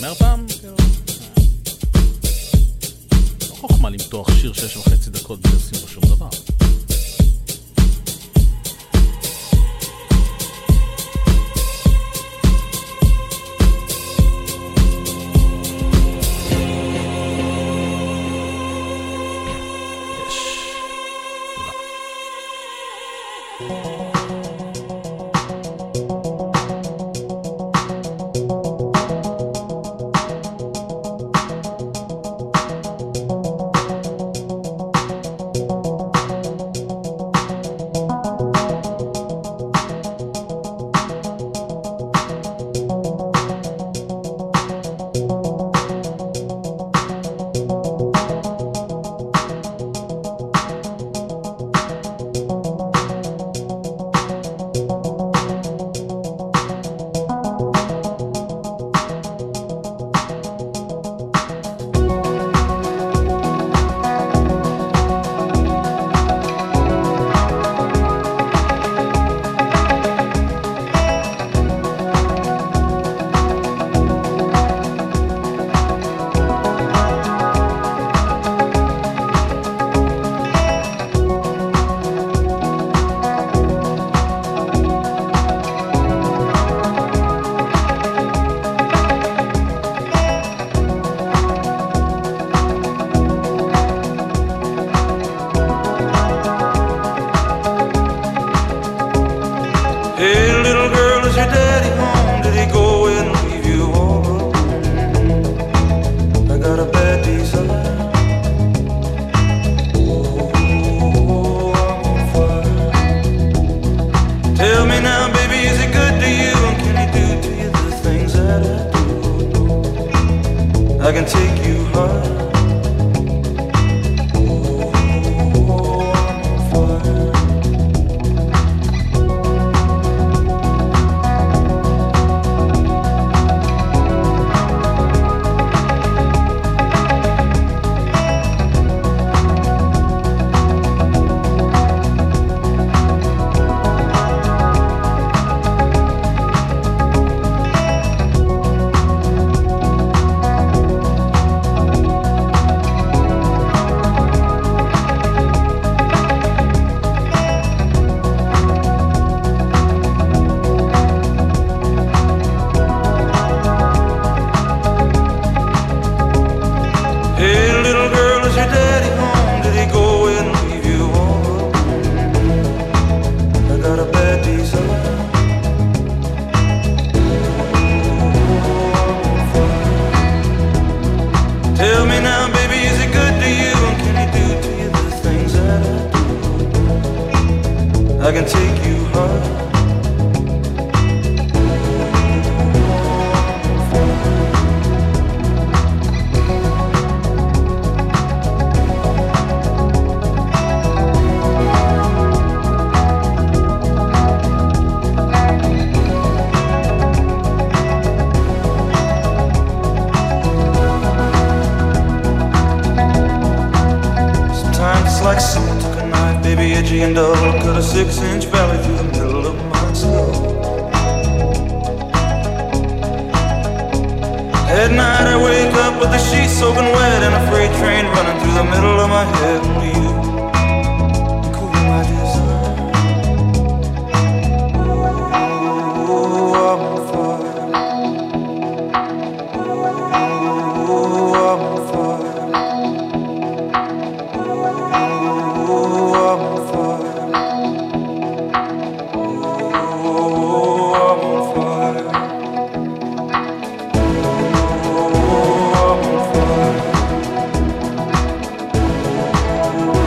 D: ייגמר פעם? לא חוכמה למתוח שיר 6.5 דקות בלי לשים בו שום דבר.
E: Oh,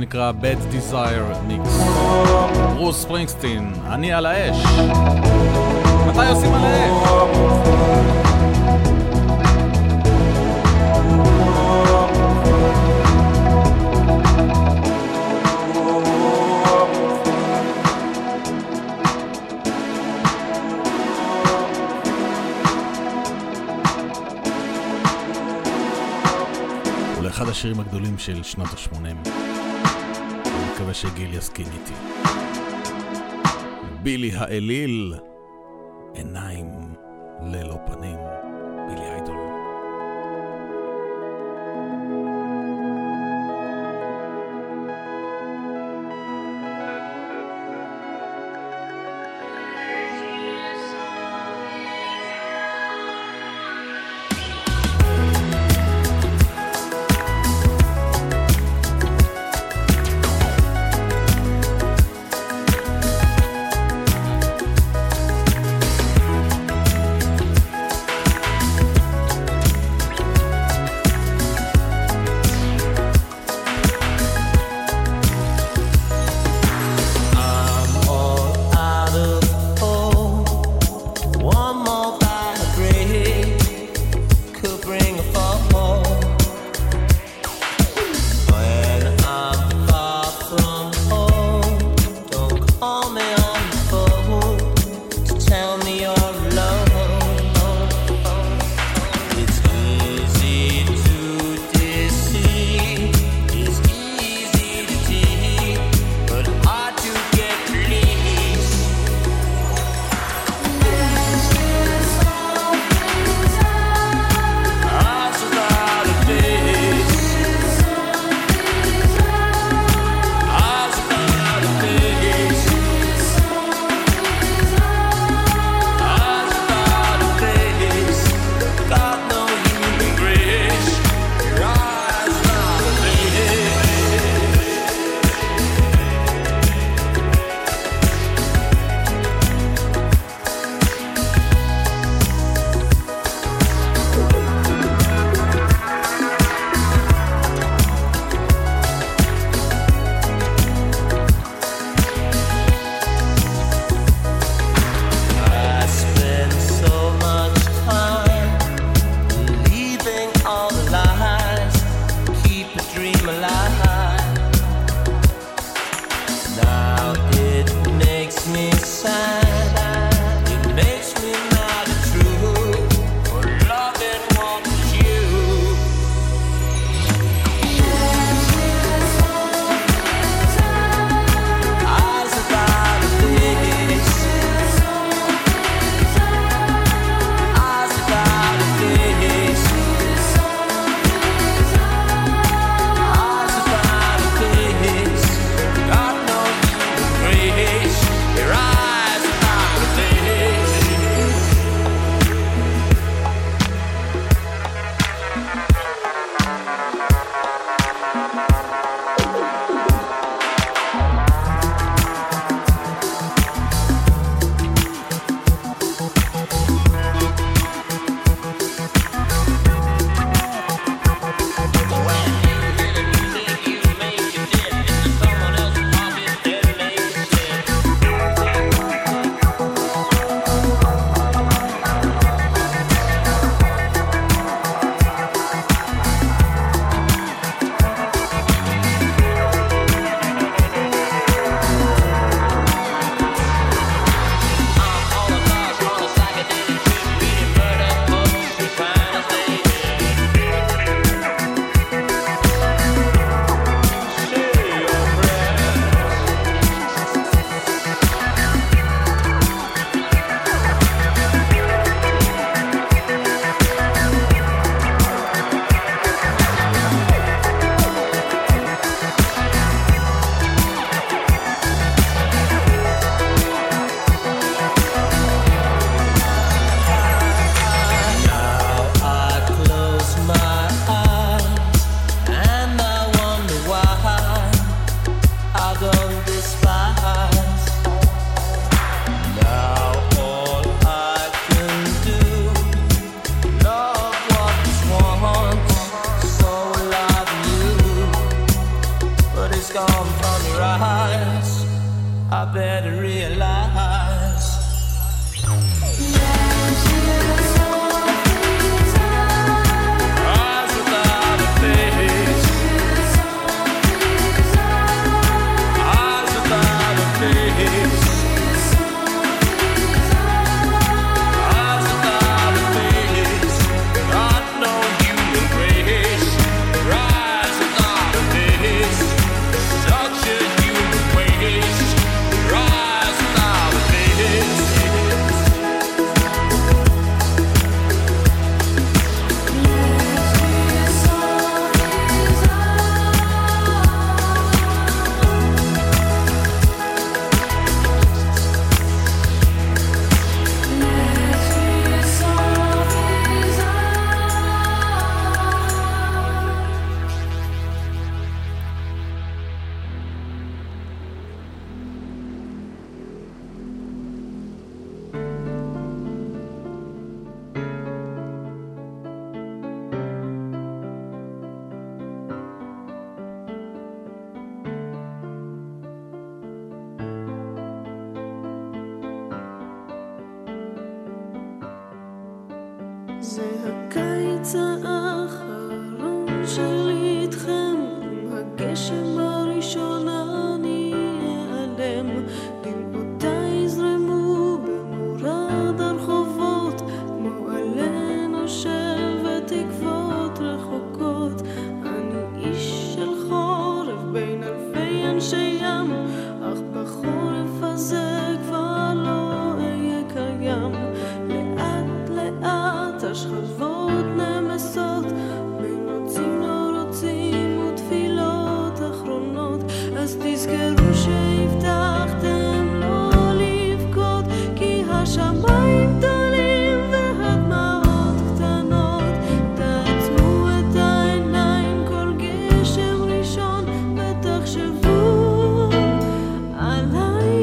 D: נקרא Bad Desire Mix. ברוס ספרינגסטין, אני על האש. מתי עושים על האש? אחד השירים הגדולים של שנות ה-80. אני מקווה שגיל יסכים איתי. בילי האליל, עיניים ללא פנים, בילי איידול.
A: better realize. Eyes without a face. Eyes without a face. Eyes without a face. Not know human grace. Rise without a face. Such a human waste. Rise without a face.
T: זה הקיץ האחרון שלי איתכם, הגשם הראשון אני אעלם, דמעותיי יזרמו במורד הרחובות, כמו עלה נושב ותקוות רחוקות. אני איש של חורף בין אלפי אנשי ים, אך בחורף הזה כבר לא אהיה קיים. לאט לאט השכבות נמסות, בין רוצים לא רוצים ותפילות אחרונות. אז תזכרו שהבטחתם לא לבכות, כי השמיים גדולים והדמעות קטנות. תעצמו את העיניים כל גשם ראשון ותחשבו עליי.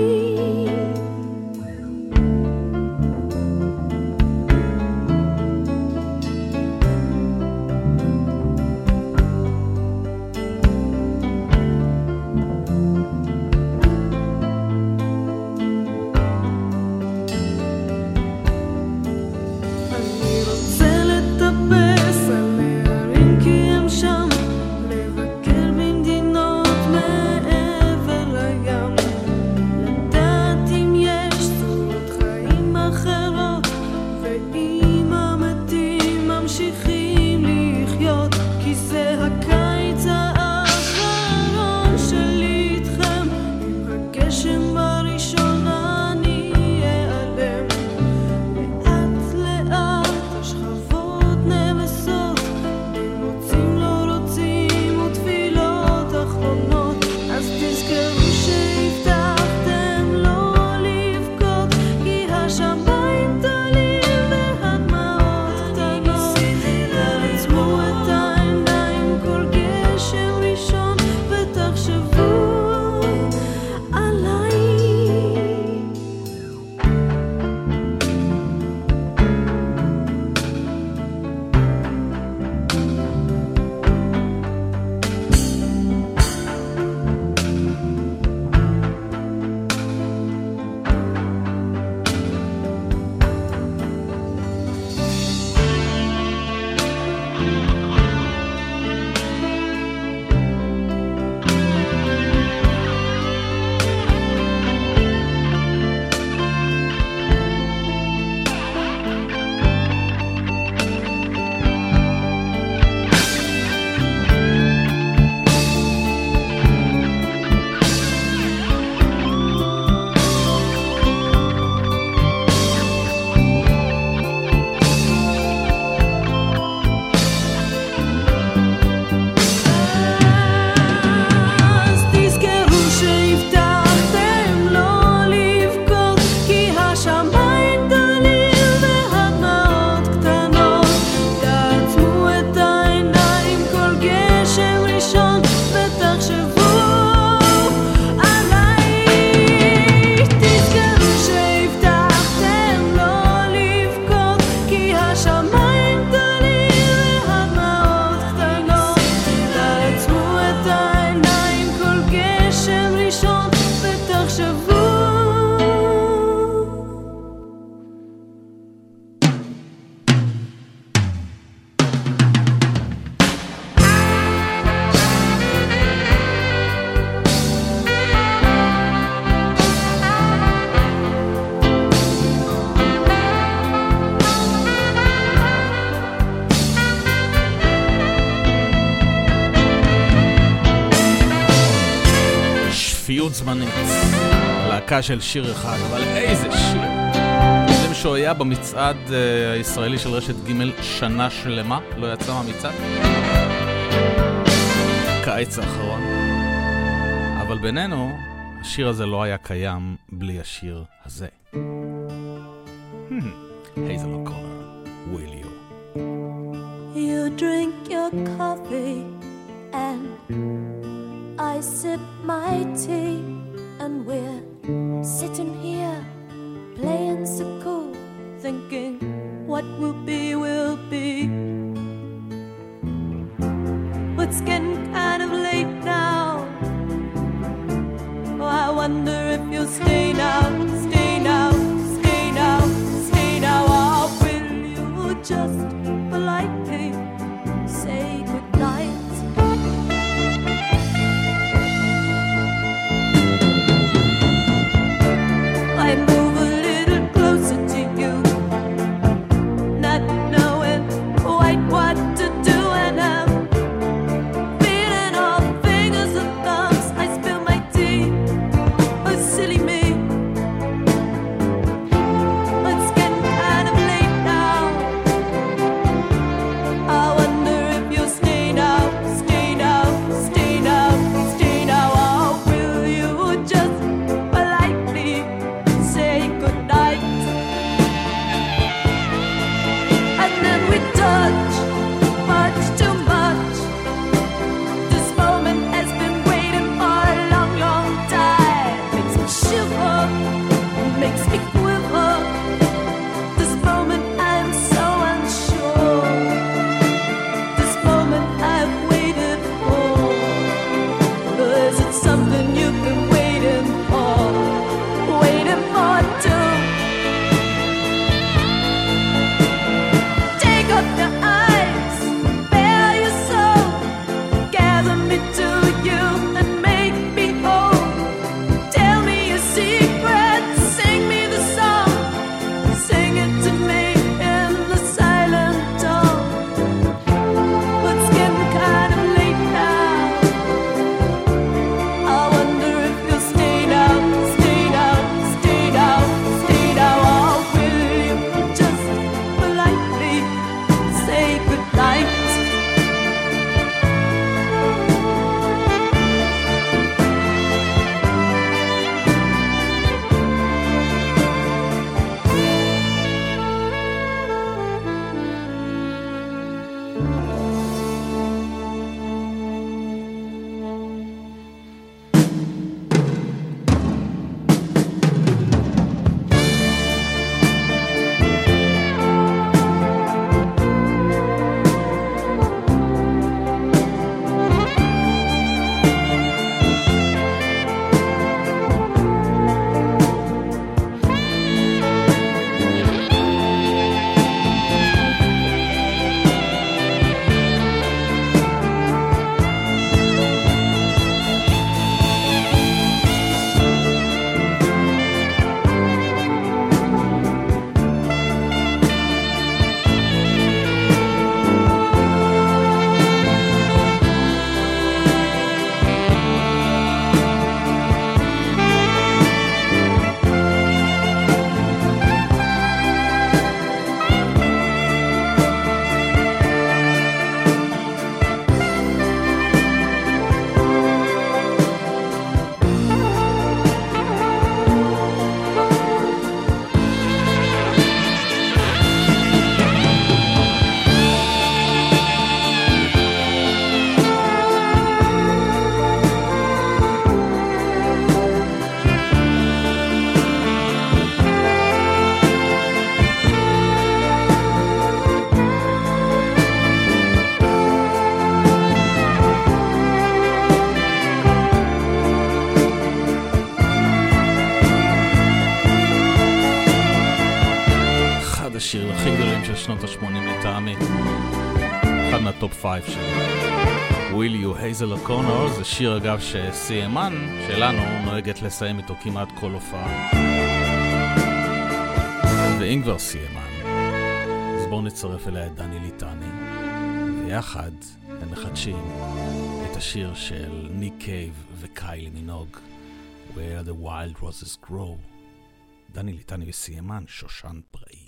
D: מאוד זמנית. להקה של שיר אחד, אבל איזה שיר. יודעים שהוא היה במצעד הישראלי של רשת ג' שנה שלמה, לא יצא מהמצעד. קיץ האחרון. אבל בינינו, השיר הזה לא היה קיים בלי השיר הזה. הייזל אוקונר, Will You.
G: You drink your coffee and I sip my tea, and we're sitting here playing so cool, thinking what will be will be. But it's getting kind of late now. Oh, I wonder if you'll stay now, stay now, stay now, stay now. Or will you just politely say goodnight? I move a little closer to you, not knowing quite what to do, and I'm feeling all fingers and thumbs. I spill my tea, oh silly me. It's getting kind of late now. I wonder if you'll stay now, stay now, stay now, stay now. Or will you just politely say goodnight? And then we touch much too much. This moment has been waiting for a long, long time. Makes me shiver, makes me quiver. This moment I'm so unsure. This moment I've waited for. Is it something you've been waiting for? Waiting for too. Take up your eyes, bare your soul, gather me to you and make me whole. Tell me your secrets, sing me the song, sing it to me in the silent tone. But it's getting kind of late now. I wonder if you'll stay now, stay now, stay now, stay now. Or will you just politely say goodnight?
D: אחד השירים הכי גדולים של שנות ה-80 לטעמי. אחד מהטופ 5 שלי. Will You, הייזל אוקונר, זה שיר אגב שסיימן שלנו נוהגת לסיים איתו כמעט כל הופעה. ואם כבר סיימן, אז בואו נצרף אליה את דני ליטני, ויחד הם מחדשים את השיר של ניק קייב וקיילי מינוג, Where the Wild Roses Grow. דני ליטני וסיימן, שושן פראי.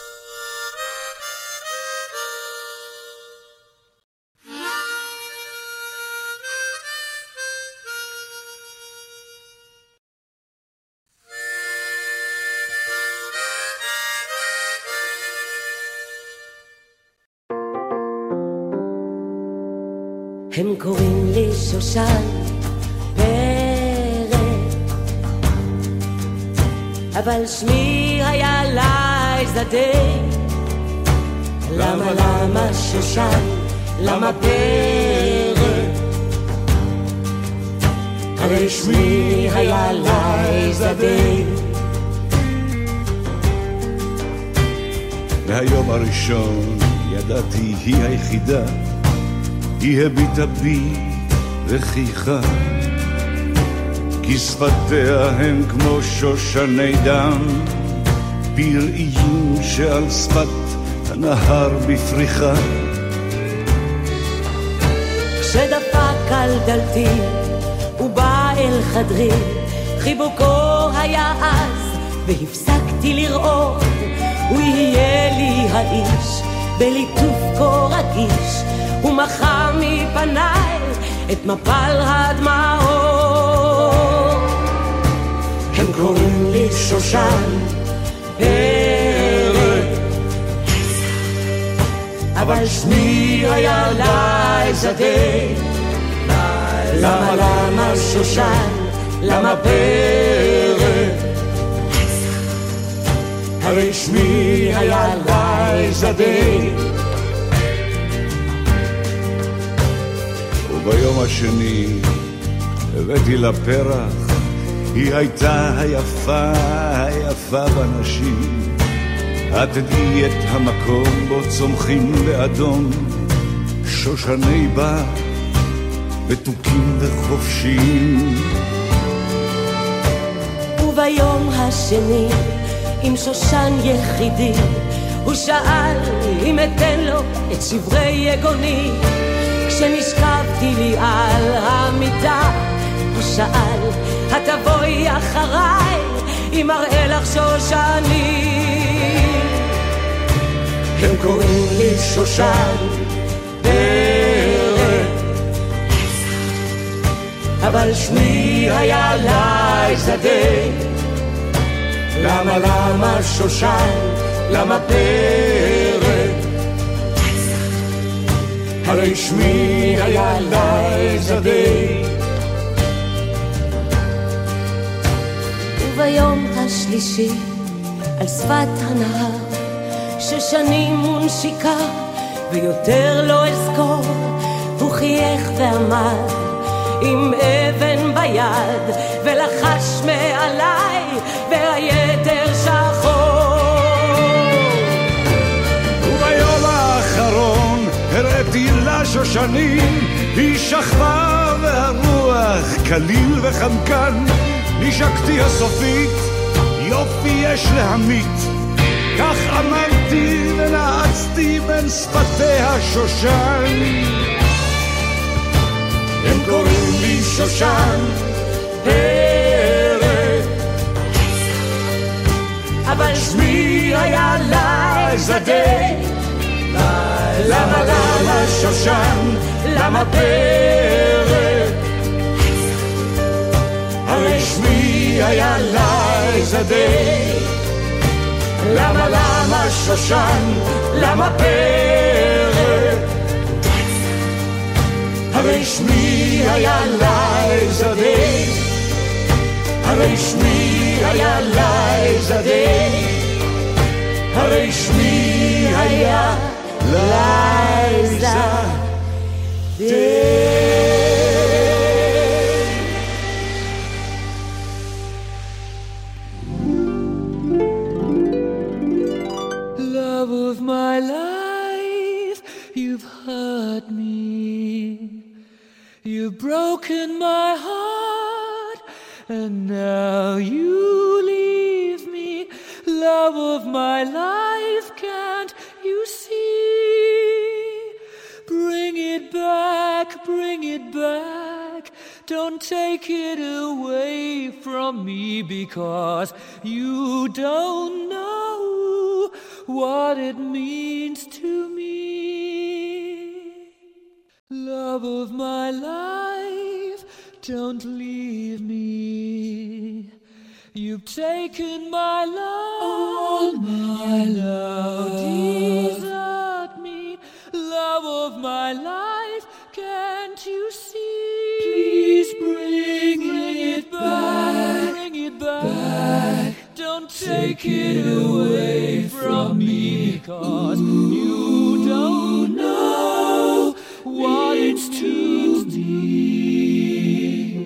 U: הם קוראים לי שושן פרא, אבל שמי היה לייזדה. למה שושן? למה פרא? הרי שמי היה לייזדה.
V: מהיום הראשון ידעתי היא היחידה, היא הביטה בי וחייכה, כי שפתיה הן כמו שושני דם, פראיים שעל שפת הנהר בפריחה.
U: כשדפק על דלתי ובא אל חדרי, חיבוקו היה אז והפסקתי לראות, הוא יהיה לי האיש בליטוף כה רגיש, הוא מחה מפניי את מפל הדמעות. הם קוראים לי שושן פרא, אבל שמי היה לייזדה. למה שושן? למה פרא? הרי שמי היה לייזדה.
V: ביום השני הבאתי לה פרח, היא הייתה היפה בנשים. את תדעי את המקום בו צומחים באדום שושני בר מתוקים וחופשיים.
U: וביום השני עם שושן יחידי, הוא שאל אם אתן לו את שברי יגוני. כשנשכבתי לי על המיטה, הוא שאל, התבואי אחריי, אם אראה לך שושני. הם קוראים לי שושן פרא, אבל שמי היה לייזדה. למה שושן? למה פרא? הרי שמי היה לייזדה. וביום השלישי על שפת הנהר, ששנים ונשיקה ויותר לא אזכור, הוא חייך ואמר עם אבן ביד ולחש מעליי והיתר שחור.
V: וביום האחרון הראיתי לה שושנים, היא שכבה והרוח קליל וחמקן. נשקתי הסופית, יופי יש להמית, כך אמרתי ונעצתי בין שפתיה שושן. הם קוראים לי שושן פרא, אבל שמי היה לייזדה. למה שושן? למה פרא? הרי שמי היה לייזדה. למה שושן? למה פרא? הרי שמי היה לייזדה. הרי שמי היה לייזדה. הרי שמי היה לייזדה.
A: Love of my life, you've hurt me. You've broken my heart, and now you leave me. Love of my life, can't you see? Bring it back Don't take it away from me, because you don't know what it means to me. Love of my life, don't leave me. You've taken my love, and now desert me. Love of my life, can't you see? Please bring it back, bring it back. Don't take it away from me, because you don't know what it's to me.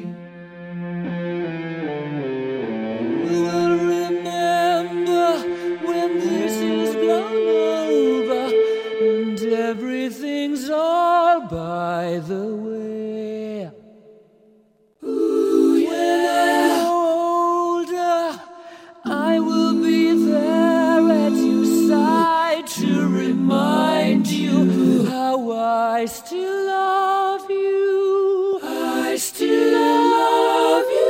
A: We'll remember when this is blown over and everything's all by the way. When I'm older, I will be there at your side to remind you how I still love you. I still love you.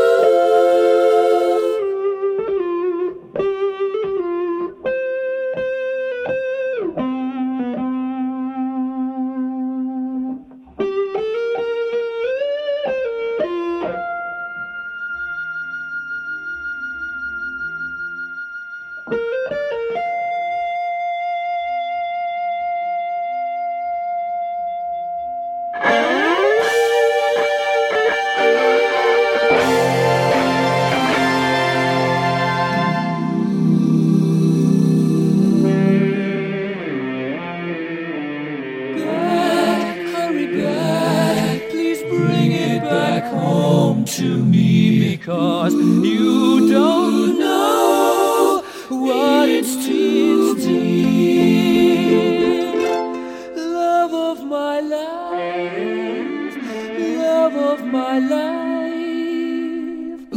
A: To me, because you don't know what it's to love of my life, love of my life.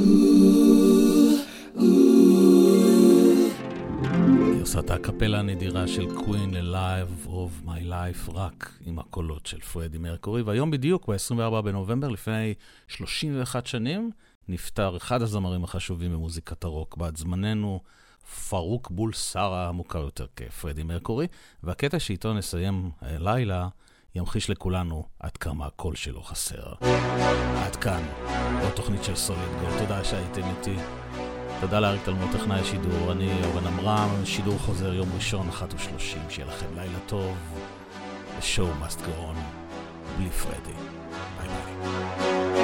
D: גרסת הקפלה הנדירה של קווין ל-Live of My Life, רק עם הקולות של פרדי מרקורי. והיום בדיוק, ב-24 בנובמבר, לפני 31 שנים, נפטר אחד הזמרים החשובים במוזיקת הרוק בעד זמננו, פרוק בולסרה, המוכר יותר כפרדי מרקורי. והקטע שאיתו נסיים לילה, ימחיש לכולנו עד כמה הקול שלו חסר. עד כאן, עוד תוכנית של סוליד גולד. תודה שהייתם איתי. תודה לאריק תלמוד, טכנאי השידור. אני אורן עמרם, שידור חוזר יום ראשון 1:30. שיהיה לכם לילה טוב. The show must go on. בלי פרדי. ביי ביי.